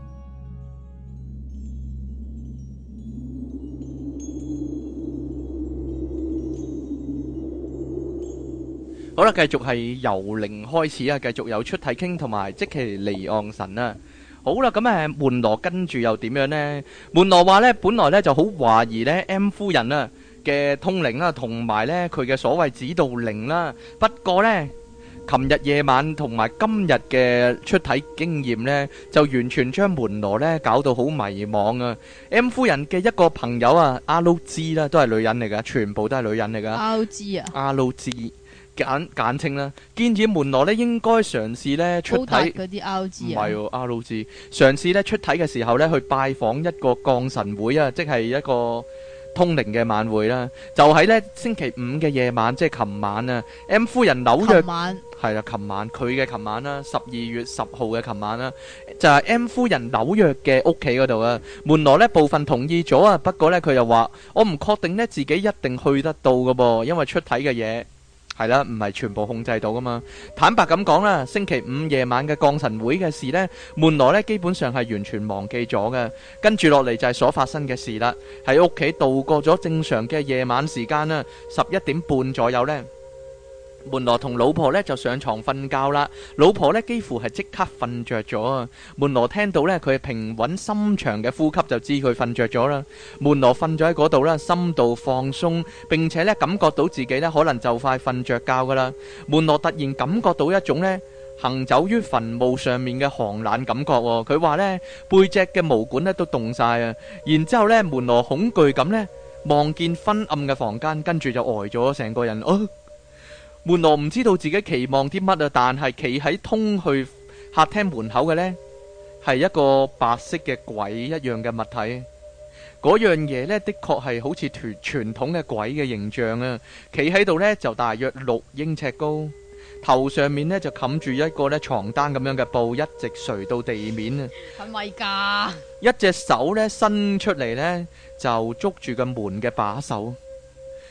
Speaker 2: 好啦，繼續係由零開始啊，繼續有出體傾同埋即其離岸神啊。好啦，咁門羅跟住又點樣呢？門羅話呢，本來呢就好懷疑呢 M 夫人啊嘅通靈啦，同埋呢佢嘅所謂指導靈啦。不過呢，琴日夜晚同埋今日嘅出體經驗呢，就完全將門羅呢搞到好迷惘啊。M 夫人嘅一個朋友啊，RG 啦，都係女人嚟噶，全部都係女人嚟噶。
Speaker 1: RG 啊
Speaker 2: ，RG。簡稱啦，建議門羅咧應該嘗試咧出體
Speaker 1: 嗰啲 RG
Speaker 2: 唔係喎 RG 嘗試咧出體嘅時候咧去拜訪一個降神會啊，即係一個通靈嘅晚會啦。就喺咧星期五嘅夜晚，即係琴晚啊。M 夫人紐約係啦，琴晚佢嘅琴晚啦，12月10號嘅琴晚啦，就係 M 夫人紐約嘅屋企嗰度啊。門羅咧部分同意咗啊，不過咧佢又話我唔確定咧自己一定去得到噶噃，因為出體嘅嘢。係啦，唔係全部控制到噶嘛。坦白咁講啦，星期五夜晚嘅降神會嘅事呢，門羅呢基本上係完全忘記咗嘅。跟住落嚟就係所發生嘅事啦。喺屋企度過咗正常嘅夜晚時間啦，11點半左右呢，門羅同老婆呢就上床瞓覺啦。老婆呢幾乎係即刻瞓着咗啊。門羅聽到呢佢平穩深長嘅呼吸就知佢瞓着咗啦。門羅瞓咗喺嗰度啦，心度放鬆，並且呢感覺到自己呢可能就快瞓着覺噶啦。門羅突然感覺到一種呢行走於墳墓上面嘅寒冷感覺。佢話呢背脊嘅毛管呢都凍晒啊。然之後呢門羅恐懼咁呢望見昏暗嘅房間，跟住就呆咗成個人。門羅唔知道自己期望啲乜啊，但係企喺通去客廳門口嘅呢，係一個白色嘅鬼一樣嘅物體。嗰樣嘢呢，的確係好似傳統嘅鬼嘅形象啊。企喺度呢，就大約6英尺高，頭上面呢，就冚住一個呢床單咁樣嘅布，一直垂到地面啊。
Speaker 1: 係咪㗎？
Speaker 2: 一隻手呢伸出嚟呢，就捉住個門嘅把手。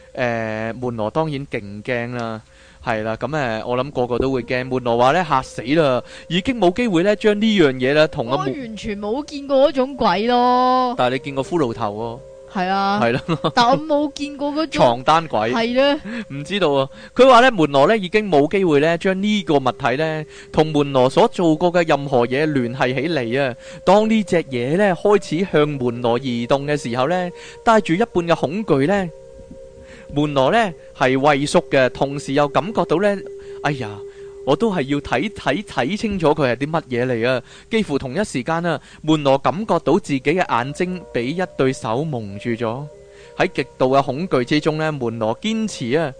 Speaker 2: 門羅當然勁驚啦，係啦，咁我諗個個都會驚。門羅話咧嚇死啦，已經冇機會咧將呢樣嘢咧同
Speaker 1: 我完全冇見過嗰種鬼咯。
Speaker 2: 但係你見過骷髏頭喎？
Speaker 1: 係啊，
Speaker 2: 係咯，
Speaker 1: 但我冇見過嗰種
Speaker 2: 床單鬼，
Speaker 1: 係咧，
Speaker 2: 唔知道啊。佢話咧門羅咧已經冇機會咧將呢個物體咧同門羅所做過嘅任何嘢聯繫起嚟啊。當呢隻嘢咧開始向門羅移動嘅時候咧，帶住一半嘅恐懼咧，門羅咧係畏縮嘅，同時又感覺到咧，哎呀！我都係要睇清楚佢係啲乜嘢嚟啊！幾乎同一時間啊，門羅感覺到自己嘅眼睛俾一對手蒙住咗。喺極度嘅恐懼之中呢，門羅堅持啊，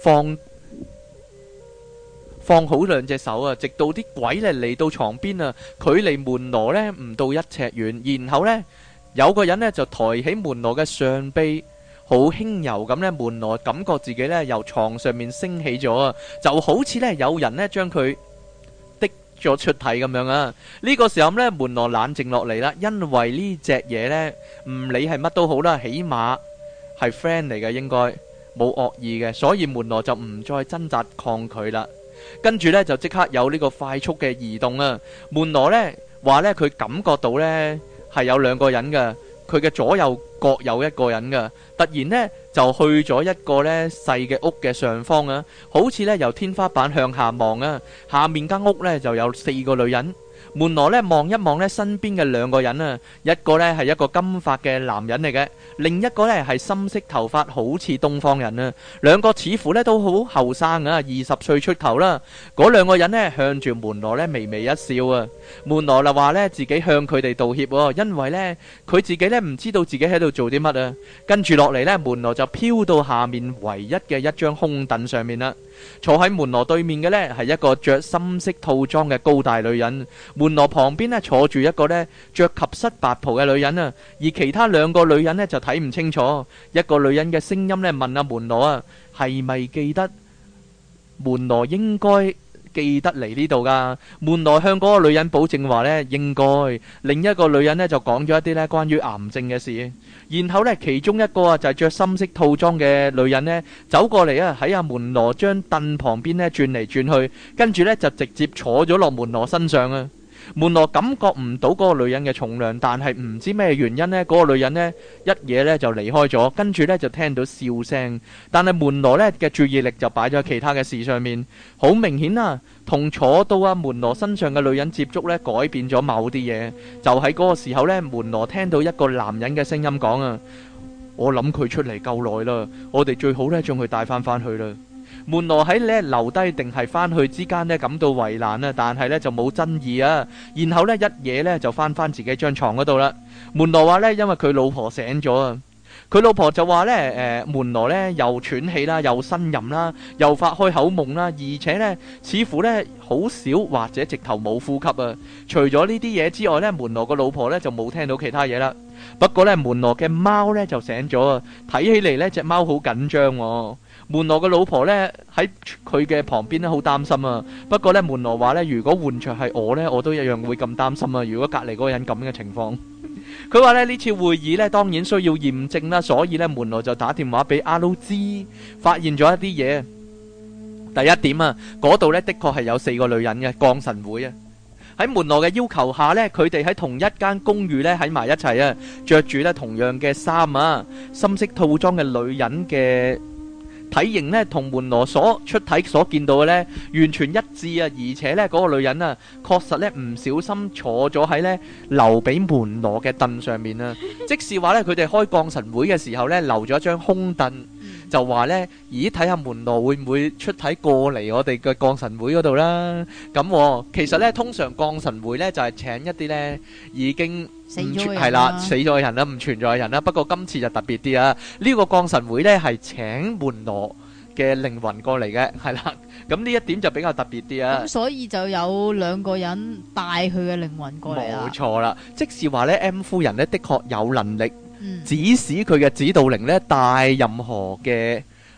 Speaker 2: 放好兩隻手啊，直到啲鬼咧嚟到床邊啊，距離門羅呢唔到1尺遠，然後呢，有個人呢就抬起門羅嘅上臂。好輕柔咁咧，門羅感覺自己咧由床上面升起咗啊，就好似咧有人咧將佢滴咗出體咁樣啊！呢個時候咧，門羅冷靜落嚟啦，因為呢隻嘢咧唔理係乜都好啦，起碼係 friend 嚟嘅，應該冇惡意嘅，所以門羅就唔再掙扎抗拒啦。跟住咧就即刻有呢個快速嘅移動啊！門羅咧話咧佢感覺到咧係有兩個人嘅。佢嘅左右各有一個人㗎，突然呢就去咗一個呢細嘅屋嘅上方啊，好似呢由天花板向下望啊，下面間屋呢就有4個女人。門羅呢望一望呢身邊嘅兩個人啊，一個呢係一個金髮嘅男人嚟嘅，另一個呢係深色頭髮，好似東方人啊。兩個似乎呢都好後生啊，20歲出頭啦。嗰兩個人呢向住門羅呢微微一笑啊。門羅就話呢自己向佢哋道歉喎，因為呢佢自己呢唔知道自己喺度做啲乜啊。跟住落嚟呢，門羅就飄到下面唯一嘅一張空凳上面啦。坐喺門羅對面嘅呢係一個着深色套裝嘅高大女人。門羅旁邊呢坐住一個呢着及膝白袍嘅女人啊，而其他兩個女人呢就睇唔清楚。一個女人嘅聲音呢問阿門羅啊，係咪記得？門羅應該記得嚟呢度噶。門羅向嗰個女人保證話呢應該。另一個女人呢就講咗一啲呢關於癌症嘅事。然後呢，其中一個啊就係着深色套裝嘅女人呢走過嚟啊，喺阿門羅張凳旁邊呢轉嚟轉去，跟住呢就直接坐咗落門羅身上啊。門羅感覺唔到嗰個女人嘅重量，但係唔知咩原因呢，嗰個女人呢一嘢呢就離開咗，跟住呢就聽到笑聲，但係門羅呢嘅注意力就擺咗喺其他嘅事上面。好明顯啊，同坐到阿門羅身上嘅女人接觸呢，改變咗某啲嘢。就喺嗰個時候呢，門羅聽到一個男人嘅聲音講啊，我諗佢出嚟夠耐啦，我哋最好呢將佢帶翻去啦。門羅喺呢留低定係翻去之間呢感到為難啊，但係呢就冇爭議啊。然後呢一嘢呢就翻自己張床嗰度啦。門羅話呢，因為佢老婆醒咗啊，佢老婆就話呢，門羅呢又喘氣啦，又呻吟啦，又發開口夢啦，而且呢似乎呢好少或者直頭冇呼吸啊。除咗呢啲嘢之外呢，門羅個老婆呢就冇聽到其他嘢啦。不過呢，門羅嘅貓呢就醒咗啊，睇起嚟呢隻貓好緊張喎。門羅嘅老婆呢喺佢嘅旁邊呢好擔心啊。不過呢，門羅話呢，如果換著係我呢，我都一樣會咁擔心啊。如果隔離嗰個人咁嘅情況，佢話呢次會議呢當然需要驗證啦，所以呢門羅就打電話俾阿魯茲，發現咗一啲嘢。第一點啊，嗰度呢的確係有4個女人嘅降神會啊。喺門羅嘅要求下呢，佢哋喺同一間公寓呢喺埋一齊啊，着住呢同樣嘅衫啊，深色套裝嘅女人嘅體型呢同門羅所出體所見到嘅呢完全一致啊，而且呢嗰個女人啊確實呢唔小心坐咗喺呢留俾門羅嘅凳上面啊，即是話呢佢哋開降神會嘅時候呢留咗一張空凳，就話呢咦睇下門羅會唔會出體過嚟我哋嘅降神會嗰度啦。咁其實呢通常降神會呢就係請一啲呢已經死咗嘅人啦，唔存在嘅人啦。不過今次就特別啲啊！呢個降神會呢係請門羅嘅靈魂過嚟嘅，係啦。咁呢一點就比較特別啲啊。咁
Speaker 1: 所以就有2個人帶佢嘅靈魂過嚟啦。
Speaker 2: 冇錯啦，即是話呢 M 夫人呢的確有能力指使佢嘅指導靈呢帶任何嘅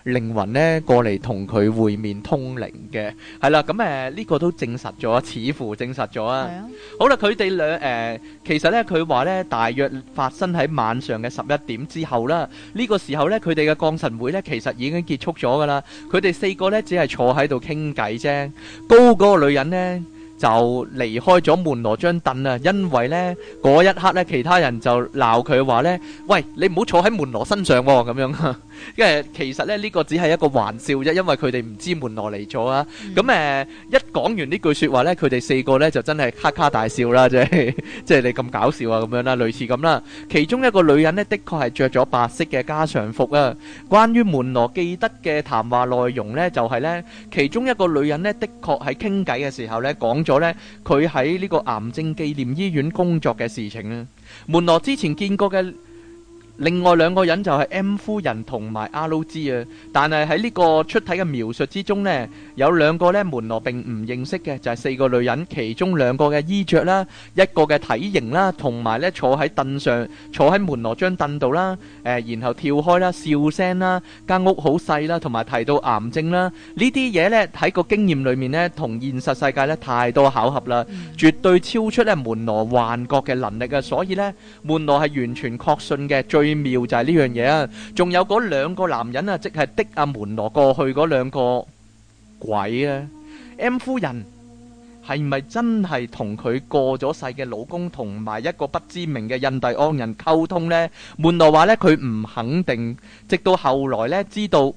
Speaker 2: 靈魂呢過嚟同佢會面通靈嘅，係啦，咁呢個都證實咗，似乎證實咗啊。好啦，佢哋其實呢，佢話呢，大約發生喺晚上嘅11點之後啦。呢個時候呢，佢哋嘅降神會呢，其實已經結束咗噶啦。佢哋4個呢，只係坐喺度傾偈啫。高嗰個女人呢，就離開咗門羅張凳啊，因為呢嗰一刻呢，其他人就鬧佢話呢：喂，你唔好坐喺門羅身上喎，咁樣。因為其實咧呢個只係一個玩笑啫，因為佢哋唔知門羅嚟咗啊。咁一講完呢句說話呢，佢哋4個呢就真係哈哈大笑啦，即係你咁搞笑啊咁樣啦，類似咁啦。其中一個女人呢，的確係着咗白色嘅家常服啊。關於門羅記得嘅談話內容呢，就係呢，其中一個女人呢，的確喺傾偈嘅時候呢，講咗呢佢喺呢個癌症紀念醫院工作嘅事情啊。門羅之前見過嘅另外2個人就係 M 夫人同埋 R.G 啊，但係喺呢個出體嘅描述之中呢，有2個呢門羅並唔認識嘅，就係4個女人，其中2個嘅衣着啦，一個嘅體型啦，同埋呢坐喺凳上，坐喺門羅張凳度啦，然後跳開啦，笑聲啦，間屋好細啦，同埋提到癌症啦，呢啲嘢呢喺個經驗裏面呢，同現實世界呢太多巧合啦，絕對超出呢門羅幻覺嘅能力啊，所以呢門羅係完全確信嘅。最妙就係呢樣嘢啊，仲有嗰2個男人啊，即係的阿門羅過去嗰2個鬼啊。M 夫人係咪真係同佢過咗世嘅老公同埋一個不知名嘅印第安人溝通呢？門羅話呢，佢唔肯定，直到後來呢，知道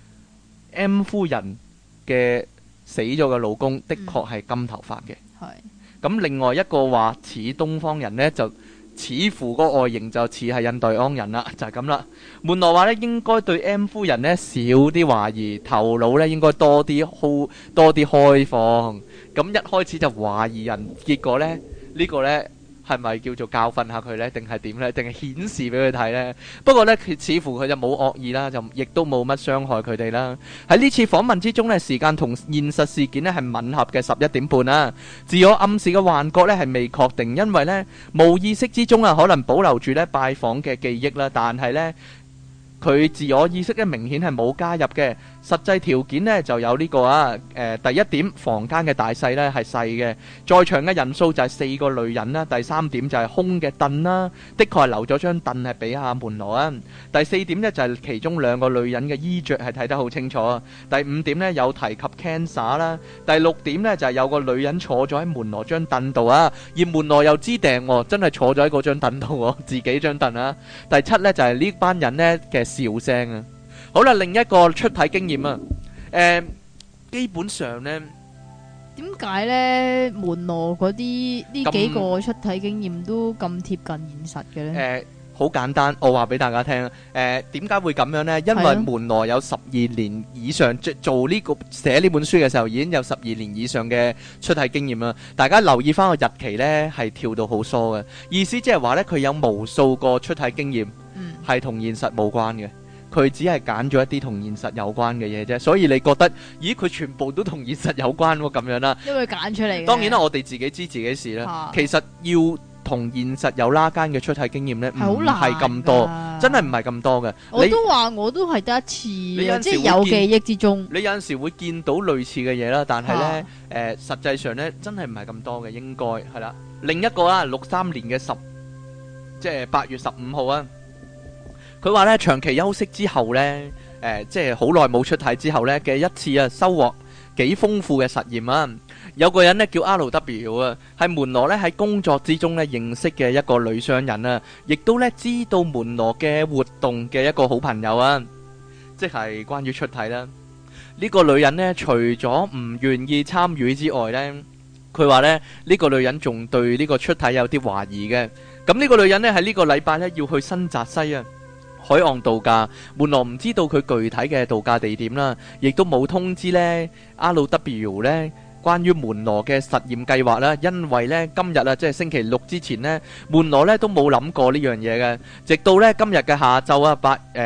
Speaker 2: M 夫人嘅死咗嘅老公的確係金頭髮嘅。咁另外一個話似東方人呢，就似乎個外形就似係印第安人啦，就係咁啦。門羅話咧，應該對 M 夫人呢少啲懷疑，頭腦咧應該多啲開放。咁一開始就懷疑人，結果呢，呢個呢係咪叫做教訓下佢呢？定係點呢？定係顯示俾佢睇呢？不過呢，似乎佢就冇惡意啦，就亦都冇乜傷害佢哋啦。喺呢次訪問之中呢，時間同現實事件呢係吻合嘅11點半啦。自我暗示嘅幻覺呢係未確定，因為呢無意識之中啊，可能保留住呢拜訪嘅記憶啦，但係呢佢自我意識呢明顯係冇加入嘅。實際條件呢就有呢個第一點，房間嘅大細呢係細嘅，在場嘅人數就係4個女人啦。第3點就係空嘅凳啦，的確係留咗張凳係俾阿門羅啊。第4點呢就係其中2個女人嘅衣着係睇得好清楚啊。第5點呢有提及 cancer 啦。第6點呢就係有個女人坐咗喺門羅張凳度啊，而門羅又知訂喎，真係坐咗喺嗰張凳度喎，自己張凳啊。第7呢就係呢班人呢嘅笑聲啊。好啦，另一個出體經驗啊，基本上呢，
Speaker 1: 點解呢？門羅嗰啲呢幾個出體經驗都咁貼近現實嘅呢？
Speaker 2: 好簡單，我話俾大家聽，點解會咁樣呢？因為門羅有12年以上做呢個寫呢本書嘅時候，已經有12年以上嘅出體經驗啦。大家留意翻個日期呢，係跳到好疏嘅，意思即係話呢，佢有無數個出體經驗，係同現實冇關嘅。佢只係揀咗一啲同現實有關嘅嘢啫，所以你覺得，咦？佢全部都同現實有關喎，咁樣啦。
Speaker 1: 因為揀出嚟。當
Speaker 2: 然啦，我哋自己知自己事啦。其實要同現實有拉間嘅出體經驗呢，唔係咁多，真係唔係咁多嘅。
Speaker 1: 我都話我都係得一次，即係有記憶之中。
Speaker 2: 你有陣時會見到類似嘅嘢啦，但係呢，實際上呢，真係唔係咁多嘅，應該係啦。另一個啊，63年嘅即係8月15號啊。佢話咧，長期休息之後呢，即係好耐冇出體之後呢嘅一次啊，收穫幾豐富嘅實驗啊！有個人呢叫 R.W 啊，係門羅呢喺工作之中呢認識嘅一個女商人啊，亦都呢知道門羅嘅活動嘅一個好朋友啊，即係關於出體啦。呢個女人呢，除咗唔願意參與之外呢，佢話呢，呢個女人仲對呢個出體有啲懷疑嘅。咁呢個女人呢，喺呢個禮拜呢要去新澤西啊海岸度假，門羅唔知道佢具體嘅度假地點啦，亦都冇通知呢 R.W 呢關於門羅嘅實驗計劃啦。因為呢今日啊，即係星期六之前呢，門羅呢都冇諗過呢樣嘢嘅。直到呢今日嘅下晝啊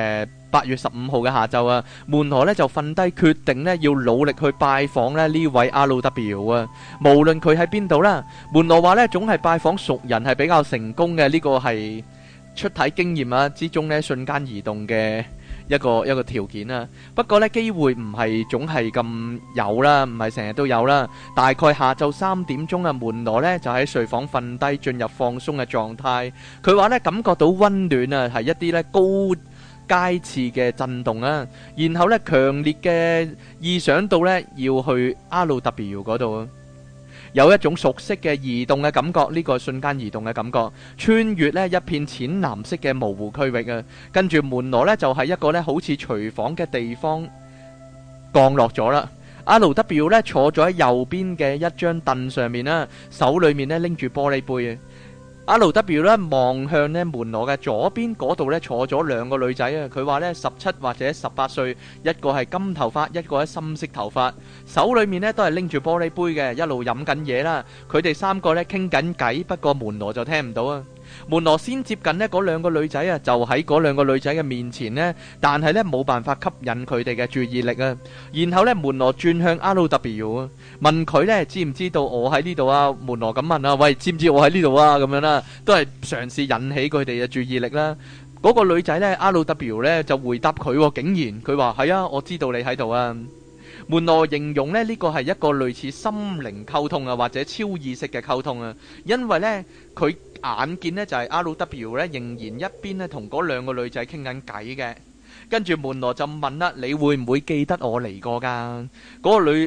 Speaker 2: ，8月15號嘅下晝啊，門羅呢就瞓低決定呢要努力去拜訪呢位 R.W 啊。無論佢喺邊度啦，門羅話呢總係拜訪熟人係比較成功嘅。呢個係出體經驗啊之中呢瞬間移動嘅一一個條件啦。不過呢，機會唔係總係咁有啦，唔係成日都有啦。大概下晝3點鐘啊，門羅呢就喺睡房瞓低，進入放鬆嘅狀態。佢話呢，感覺到溫暖啊，係一啲呢高階次嘅震動啊，然後呢，強烈嘅意想到呢要去 RW 嗰度啊。有一種熟悉嘅移動嘅感覺，呢個瞬間移動嘅感覺，穿越呢一片淺藍色嘅模糊區域啊。跟住門羅呢，就係一個呢好似廚房嘅地方降落咗啦。RW 呢坐咗喺右邊嘅一張凳上面啦，手裏面呢拎住玻璃杯啊。RW 呢望向呢門羅嘅左邊嗰度呢坐咗兩個女仔啊，佢話呢17或者18歲，一個係金頭髮，一個係深色頭髮，手裏面呢都係拎住玻璃杯嘅，一路飲緊嘢啦。佢哋三個呢傾緊偈，不過門羅就聽唔到啊。門羅先接近呢嗰兩個女仔啊，就喺嗰兩個女仔嘅面前呢，但係呢冇辦法吸引佢哋嘅注意力啊。然後呢門羅轉向 RW 啊，問佢呢知唔知道我喺呢度啊？門羅咁問啊，喂，知唔知我喺呢度啊？咁樣啦，都係嘗試引起佢哋嘅注意力啦。嗰個女仔呢 RW 呢就回答佢，竟然佢話係啊，我知道你喺度啊。門羅形容呢個係一個類似心靈溝通啊，或者超意識嘅溝通啊，因為呢佢眼見呢就係 RW 呢仍然一邊呢同嗰兩個女仔傾緊偈嘅。跟住門羅就問啦，你會唔會記得我嚟過㗎？嗰個女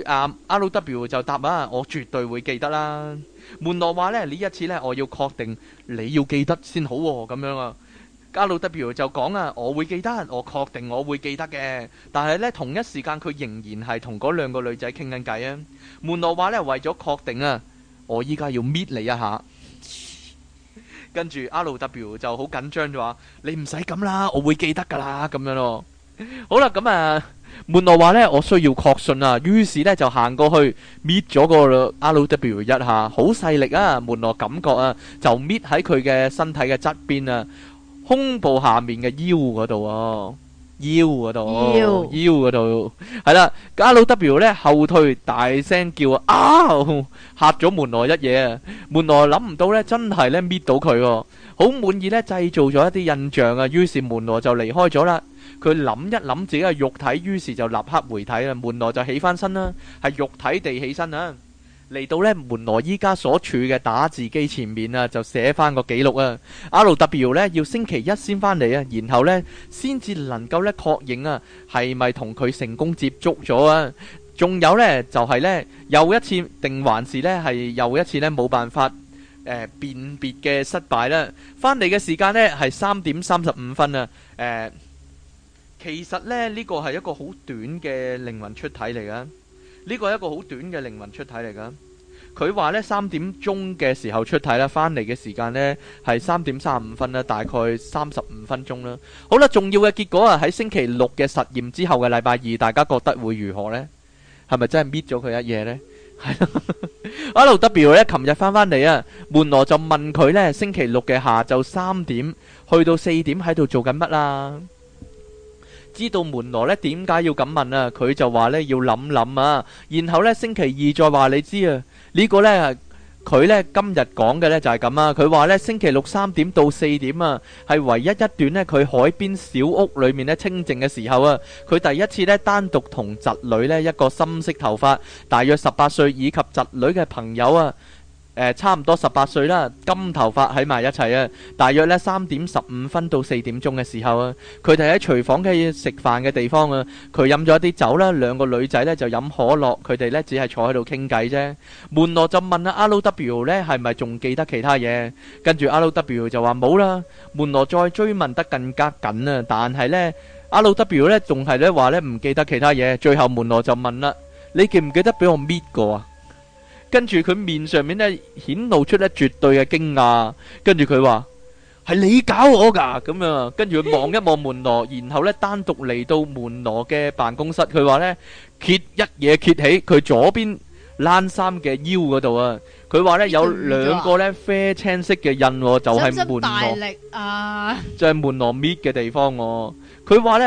Speaker 2: RW 就答啊，我絕對會記得啦。門羅話呢一次呢我要確定你要記得先好喎，咁樣啊。RW 就講啊，我會記得，我確定我會記得嘅。但係呢同一時間佢仍然係同嗰兩個女仔傾緊偈啊。門羅話呢為咗確定啊，我依家要搣你一下。跟住 RW 就好緊張就話，你唔使咁啦，我會記得噶啦，咁樣咯。好啦，咁門羅話呢我需要確信啊，於是呢就行過去搣咗個 RW 一下，好細力啊。門羅感覺啊，就搣喺佢嘅身體嘅側邊啊，胸部下面嘅腰嗰度啊，腰嗰度係啦。RW 呢後退，大聲叫啊，嚇咗門羅一嘢啊。門羅諗唔到呢真係呢搣到佢，好滿意呢製造咗一啲印象啊。於是門羅就離開咗啦。佢諗一諗自己嘅肉體，於是就立刻回體啊。門羅就起翻身啦，係肉體地起身啊。嚟到呢門羅依家所處嘅打字機前面啊，就寫翻個記錄啊。RW 呢要星期一先翻嚟啊，然後呢先至能夠呢確認啊係咪同佢成功接觸咗啊。仲有呢就係呢又一次定還是呢係又一次呢冇辦法辨別嘅失敗啦。翻嚟嘅時間呢係3點35分啊。其實呢呢個係一個好短嘅靈魂出體嚟噶。呢個係一個好短嘅靈魂出體嚟噶。佢話呢3點鐘嘅時候出體啦，翻嚟嘅時間呢係3點35分啦，大概35分鐘啦。好啦，重要嘅結果啊，喺星期六嘅實驗之後嘅禮拜二，大家覺得會如何呢？係咪真係搣咗佢一嘢呢？係啦，RW 呢琴日翻嚟啊，門羅就問佢呢星期六嘅下晝3點去到4點喺度做緊乜啊？知道門羅呢點解要咁問啊？佢就話呢要諗諗啊，然後呢星期二再話你知啊。呢個呢佢呢今日講嘅呢就係咁啊。佢話呢星期六3點到4點啊，係唯一一段呢佢海邊小屋裏面呢清靜嘅時候啊。佢第一次呢單獨同侄女呢一個深色頭髮大約18歲以及侄女嘅朋友啊，差唔多18歲啦，金頭髮喺埋一齊啊。大約呢3點15分到4點鐘嘅時候啊，佢哋喺廚房嘅食飯嘅地方啊。佢飲咗一啲酒啦，兩個女仔呢就飲可樂，佢哋呢只係坐喺度傾偈啫。門羅就問啊 RW 呢係咪仲記得其他嘢？跟住 RW 就話冇啦。門羅再追問得更加緊啊，但係呢 RW 呢仲係呢話呢唔記得其他嘢。最後門羅就問啦，你記唔記得俾我搣過啊？跟住佢面上面呢顯露出呢絕對嘅驚訝，跟住佢話係你搞我噶咁樣。跟住佢望一望門羅，然後呢單獨嚟到門羅嘅辦公室。佢話呢揭一嘢揭起佢左邊冷衫嘅腰嗰度啊。佢話呢有兩個呢啡青色嘅印，就係門羅，就係門羅搣嘅地方。佢話呢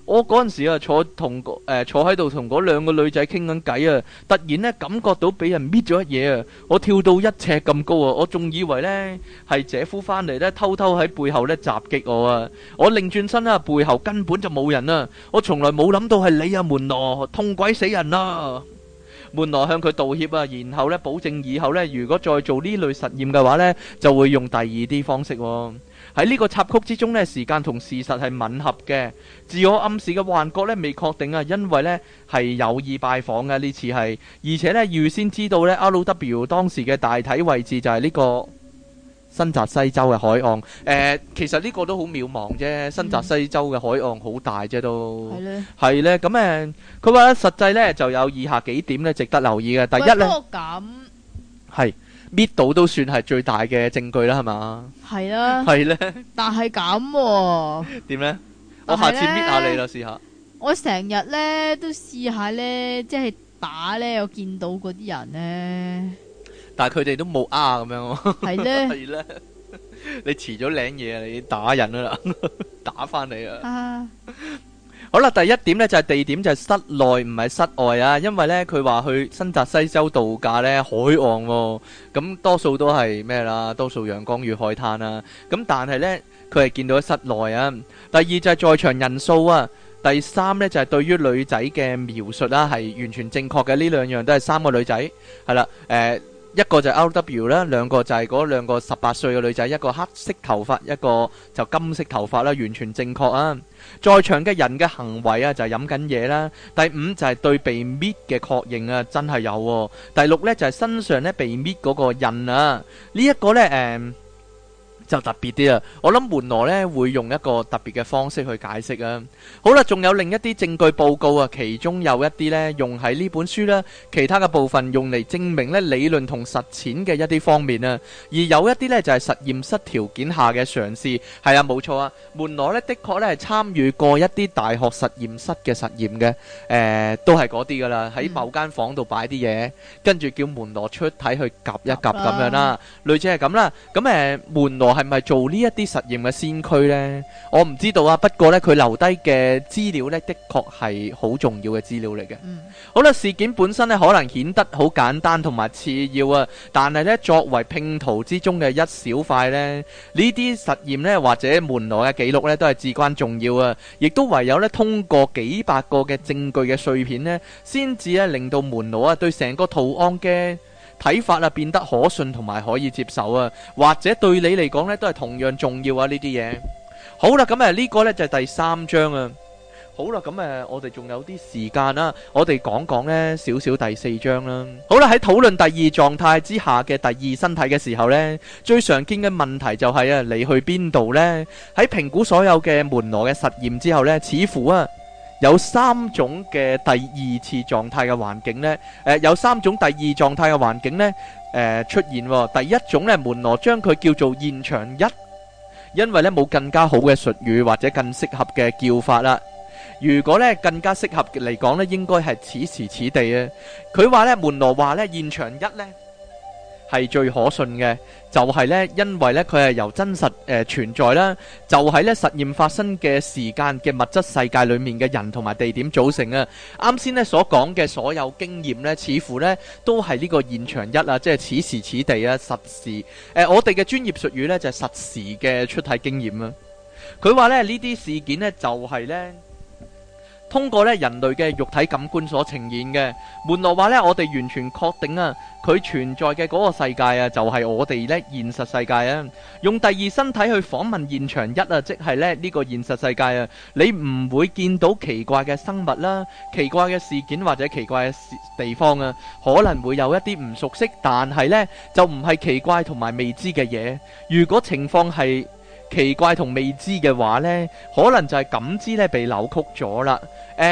Speaker 2: 我嗰陣時啊，坐喺度同嗰兩個女仔傾緊偈啊，突然咧感覺到俾人搣咗一嘢啊！我跳到1尺咁高啊，我仲以為咧係姐夫翻嚟咧，偷偷喺背後咧襲擊我啊！我擰轉身啦，背後根本就冇人啊！我從來冇諗到係你啊，門羅，痛鬼死人啦！門羅向佢道歉啊，然後咧保證以後咧，如果再做呢類實驗嘅話咧，就會用第二啲方式喎。喺呢個插曲之中呢，時間同事實係吻合嘅，自我暗示嘅幻覺呢未確定啊，因為呢係有意拜訪嘅呢次係，而且呢預先知道呢 RW 當時嘅大體位置就係呢個新澤西州嘅海岸。其實呢個都好渺茫啫，新澤西州嘅海岸好大啫都。係呢，咁佢話實際呢就有以下幾點呢值得留意嘅。第一呢，係。搣到都算係最大嘅證據啦，係嘛？係啦，係咧。
Speaker 1: 但係咁
Speaker 2: 點咧？我下次搣下你啦，試下。
Speaker 1: 我成日咧都試下咧，即係打咧，我見到嗰啲人咧。
Speaker 2: 但係佢哋都冇咁樣。
Speaker 1: 係咧，
Speaker 2: 係咧。你遲咗領嘢啊！你打人啦，打翻你啊！好啦，第一點呢就係地點就係室內唔係室外啊，因為呢佢話去新澤西州度假呢海岸喎，咁多數都係咩啦？多數陽光與海灘啦，咁但係呢佢係見到喺室內啊。第二就係在場人數啊，第三呢就係對於女仔嘅描述啦係完全正確嘅，呢兩樣都係3個女仔係啦，一個就係 RW 啦，兩個就係嗰兩個18歲嘅女仔，一個黑色頭髮，一個就金色頭髮啦，完全正確啊！在場嘅人嘅行為啊，就係飲緊嘢啦。第5就係對被搣嘅確認啊，真係有喎。第6呢就係身上呢被搣嗰個印啊，呢一個呢就特別啲啊！我諗門羅呢會用一個特別嘅方式去解釋啊。好啦，仲有另一啲證據報告啊，其中有一啲呢用喺呢本書啦，其他嘅部分用嚟證明呢理論同實踐嘅一啲方面啊。而有一啲呢就係實驗室條件下嘅嘗試，係啊，冇錯啊。門羅呢的確呢係參與過一啲大學實驗室嘅實驗嘅，都係嗰啲噶啦，喺某間房度擺啲嘢，跟住叫門羅出體去夾一夾咁樣啦，類似係咁啦。咁門羅係咪做呢一啲實驗嘅先驅呢？我唔知道啊。不過呢，佢留低嘅資料呢，的確係好重要嘅資料嚟嘅。好啦，事件本身呢，可能顯得好簡單同埋次要啊，但係呢，作為拼圖之中嘅一小塊呢，呢啲實驗呢，或者門羅嘅記錄呢，都係至關重要啊。亦都唯有呢，通過幾百個嘅證據嘅碎片呢，先至呢，令到門羅啊對成個圖案嘅睇法啊變得可信同埋可以接受啊，或者對你嚟講呢都係同樣重要啊呢啲嘢。好啦，咁呢個呢就係第3章啊。好啦，咁我哋仲有啲時間啦，我哋講講呢少少第4章啦。好啦，喺討論第2狀態之下嘅第2身體嘅時候呢，最常見嘅問題就係你去邊度呢？喺評估所有嘅門羅嘅實驗之後呢，似乎有3種嘅第2次狀態嘅環境呢，有3種第2狀態嘅環境呢出現。第一種呢，門羅將佢叫做現場1，因為呢冇更加好嘅術語或者更適合嘅叫法啦。如果呢更加適合嚟講呢，應該係此時此地啊。佢話呢，門羅話呢，現場1呢係最可信嘅，就係呢，因為呢佢係由真實存在啦，就喺呢實驗發生嘅時間嘅物質世界裏面嘅人同埋地點組成啊。啱先呢所講嘅所有經驗呢，似乎呢都係呢個現場1啊，即係此時此地啊，實時。我哋嘅專業術語呢，就係實時嘅出體經驗啊。佢話呢，呢啲事件呢，就係呢通過咧人類嘅肉體感官所呈現嘅。門羅話咧，我哋完全確定啊，佢存在嘅嗰個世界啊，就係我哋咧現實世界啊。用第2身體去訪問現場1啊，即係咧呢個現實世界啊，你唔會見到奇怪嘅生物啦、奇怪嘅事件或者奇怪嘅地方啊，可能會有一啲唔熟悉，但係呢就唔係奇怪同埋未知嘅嘢。如果情況係奇怪同未知嘅話呢，可能就係感知咧被扭曲咗啦。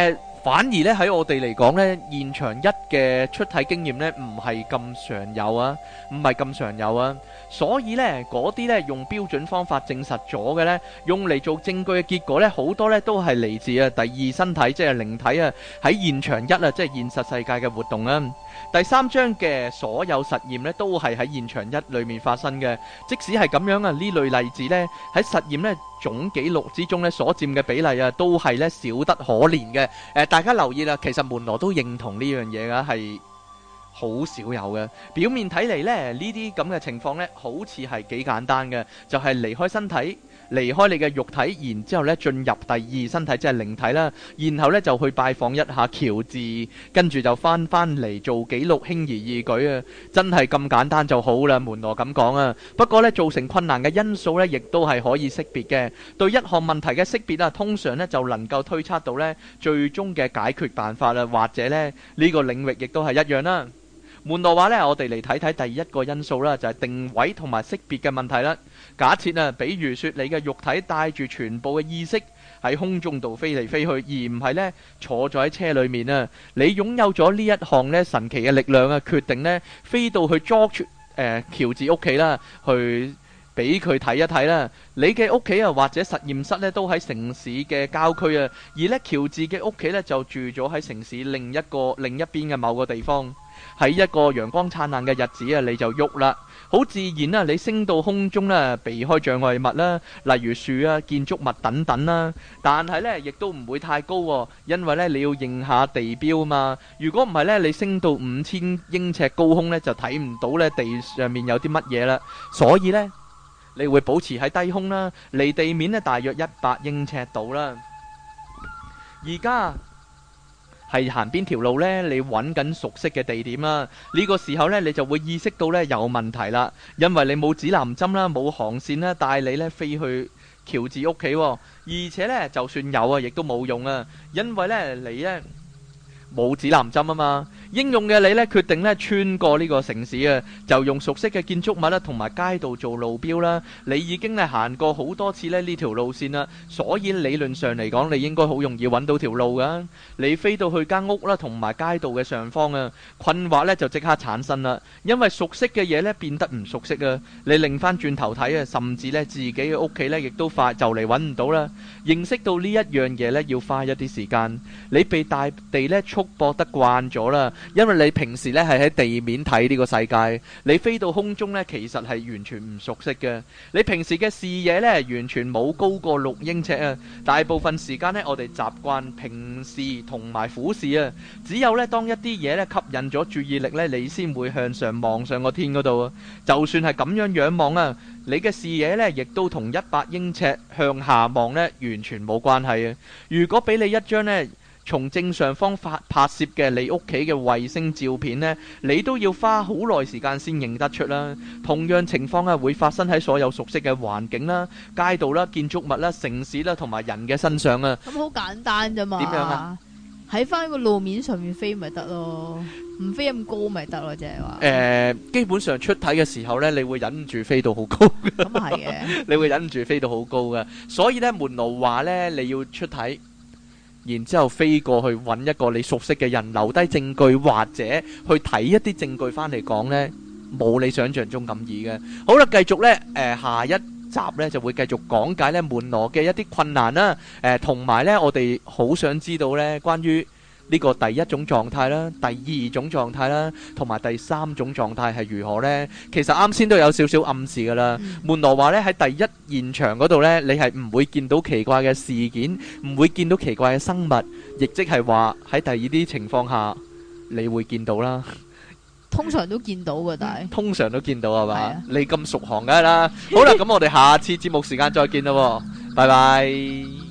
Speaker 2: 反而咧喺我哋嚟講咧，現場一嘅出體經驗咧唔係咁常有啊，唔係咁常有啊。所以咧嗰啲咧用標準方法證實咗嘅咧，用嚟做證據嘅結果咧，好多咧都係嚟自啊第二身體，即係靈體啊喺現場一啊，即係現實世界嘅活動啊。第三章嘅所有實驗咧都係喺現場一裏面發生嘅，即使係咁樣啊，呢類例子咧喺實驗咧總記錄之中咧所佔嘅比例啊，都係咧少得可憐嘅。大家留意啦，其實門羅都認同呢樣嘢噶，係好少有嘅。表面睇嚟咧，呢啲咁嘅情況咧，好似係幾簡單嘅，就係離開身體，離開你嘅肉體，然之後咧進入第二身體，即係靈體啦。然後咧就去拜訪一下喬治，跟住就翻嚟做記錄，輕而易舉啊！真係咁簡單就好啦，門羅咁講啊。不過咧造成困難嘅因素咧，亦都係可以識別嘅。對一項問題嘅識別啊，通常咧就能夠推測到咧最終嘅解決辦法啦，或者咧呢個領域亦都係一樣啦。門羅話呢，我哋嚟睇睇第一個因素啦，就係定位同埋識別嘅問題啦。假設啊，比如說你嘅肉體帶住全部嘅意識喺空中度飛嚟飛去，而唔係呢坐咗喺車裏面啊。你擁有咗呢一項呢神奇嘅力量啊，決定呢飛到去George喬治屋企啦，去俾佢睇一睇啦。你嘅屋企啊，或者實驗室呢，都喺城市嘅郊區啊，而呢喬治嘅屋企呢，就住咗喺城市另一邊嘅某個地方。喺一個陽光燦爛嘅日子啊，你就喐啦，好自然啦，你升到空中啦，避開障礙物啦，例如樹啊、建築物等等啦。但係呢，亦都唔會太高，因為呢，你要認下地標啊嘛。如果唔係呢，你升到5000英尺高空呢，就睇唔到呢地上面有啲乜嘢啦。所以呢，你會保持喺低空啦，離地面呢大約100英尺度啦。而家係行邊條路呢？你揾緊熟悉嘅地點啦。呢個時候呢，你就會意識到呢有問題啦，因為你冇指南針啦，冇航線啦，帶你呢飛去喬治屋企，而且呢，就算有啊，亦都冇用啊，因為呢，你呢冇指南針啊嘛。英勇嘅你呢，決定呢穿過呢個城市啊，就用熟悉嘅建築物啦同埋街道做路標啦。你已經呢行過好多次呢條路線啦，所以理論上嚟講，你應該好容易揾到條路噶。你飛到去間屋啦同埋街道嘅上方啊，困惑呢就即刻產生啦，因為熟悉嘅嘢呢變得唔熟悉啊。你擰翻轉頭睇啊，甚至呢自己嘅屋企呢亦都快就嚟揾唔到啦。認識到呢一樣嘢呢要花一啲時間。你被大地呢束縛得慣咗啦。因為你平時咧係喺地面睇呢個世界，你飛到空中咧，其實係完全唔熟悉嘅。你平時嘅視野咧，完全冇高過6英尺啊！大部分時間咧，我哋習慣平視同埋俯視啊。只有咧，當一啲嘢咧吸引咗注意力咧，你先會向上望上個天嗰度啊。就算係咁樣仰望啊，你嘅視野咧，亦都同100英尺向下望咧，完全冇關係啊。如果俾你一張咧，從正上方拍攝嘅你屋企嘅衛星照片呢，你都要花好耐時間先認得出啦。同樣情況啊，會發生喺所有熟悉嘅環境啦、街道啦、建築物啦、城市啦同埋人嘅身上啊。
Speaker 1: 咁好簡單啫嘛。點樣啊？喺翻個路面上面飛咪得咯，唔飛咁高咪得咯，即係話。
Speaker 2: 基本上出體嘅時候呢，你會忍唔住飛到好高。
Speaker 1: 咁係嘅。
Speaker 2: 你會忍唔住飛到好高嘅，所以呢，門羅話呢，你要出體。然之後飛過去揾一個你熟悉嘅人，留低證據或者去睇一啲證據翻嚟講呢，冇你想象中咁易嘅。好啦，繼續呢，下一集呢就會繼續講解呢門羅嘅一啲困難啦，同埋呢我哋好想知道呢關於呢個第一種狀態啦，第二種狀態啦，同埋第三種狀態係如何呢？其實啱先都有少少暗示噶啦。門羅話呢喺第一現場嗰度呢，你係唔會見到奇怪嘅事件，唔會見到奇怪嘅生物，亦即係話喺第二啲情況下你會見到啦。
Speaker 1: 通常都見到嘅，但係
Speaker 2: 通常都見到係嘛？你咁熟行㗎啦。好啦，咁我哋下次節目時間再見啦，拜拜。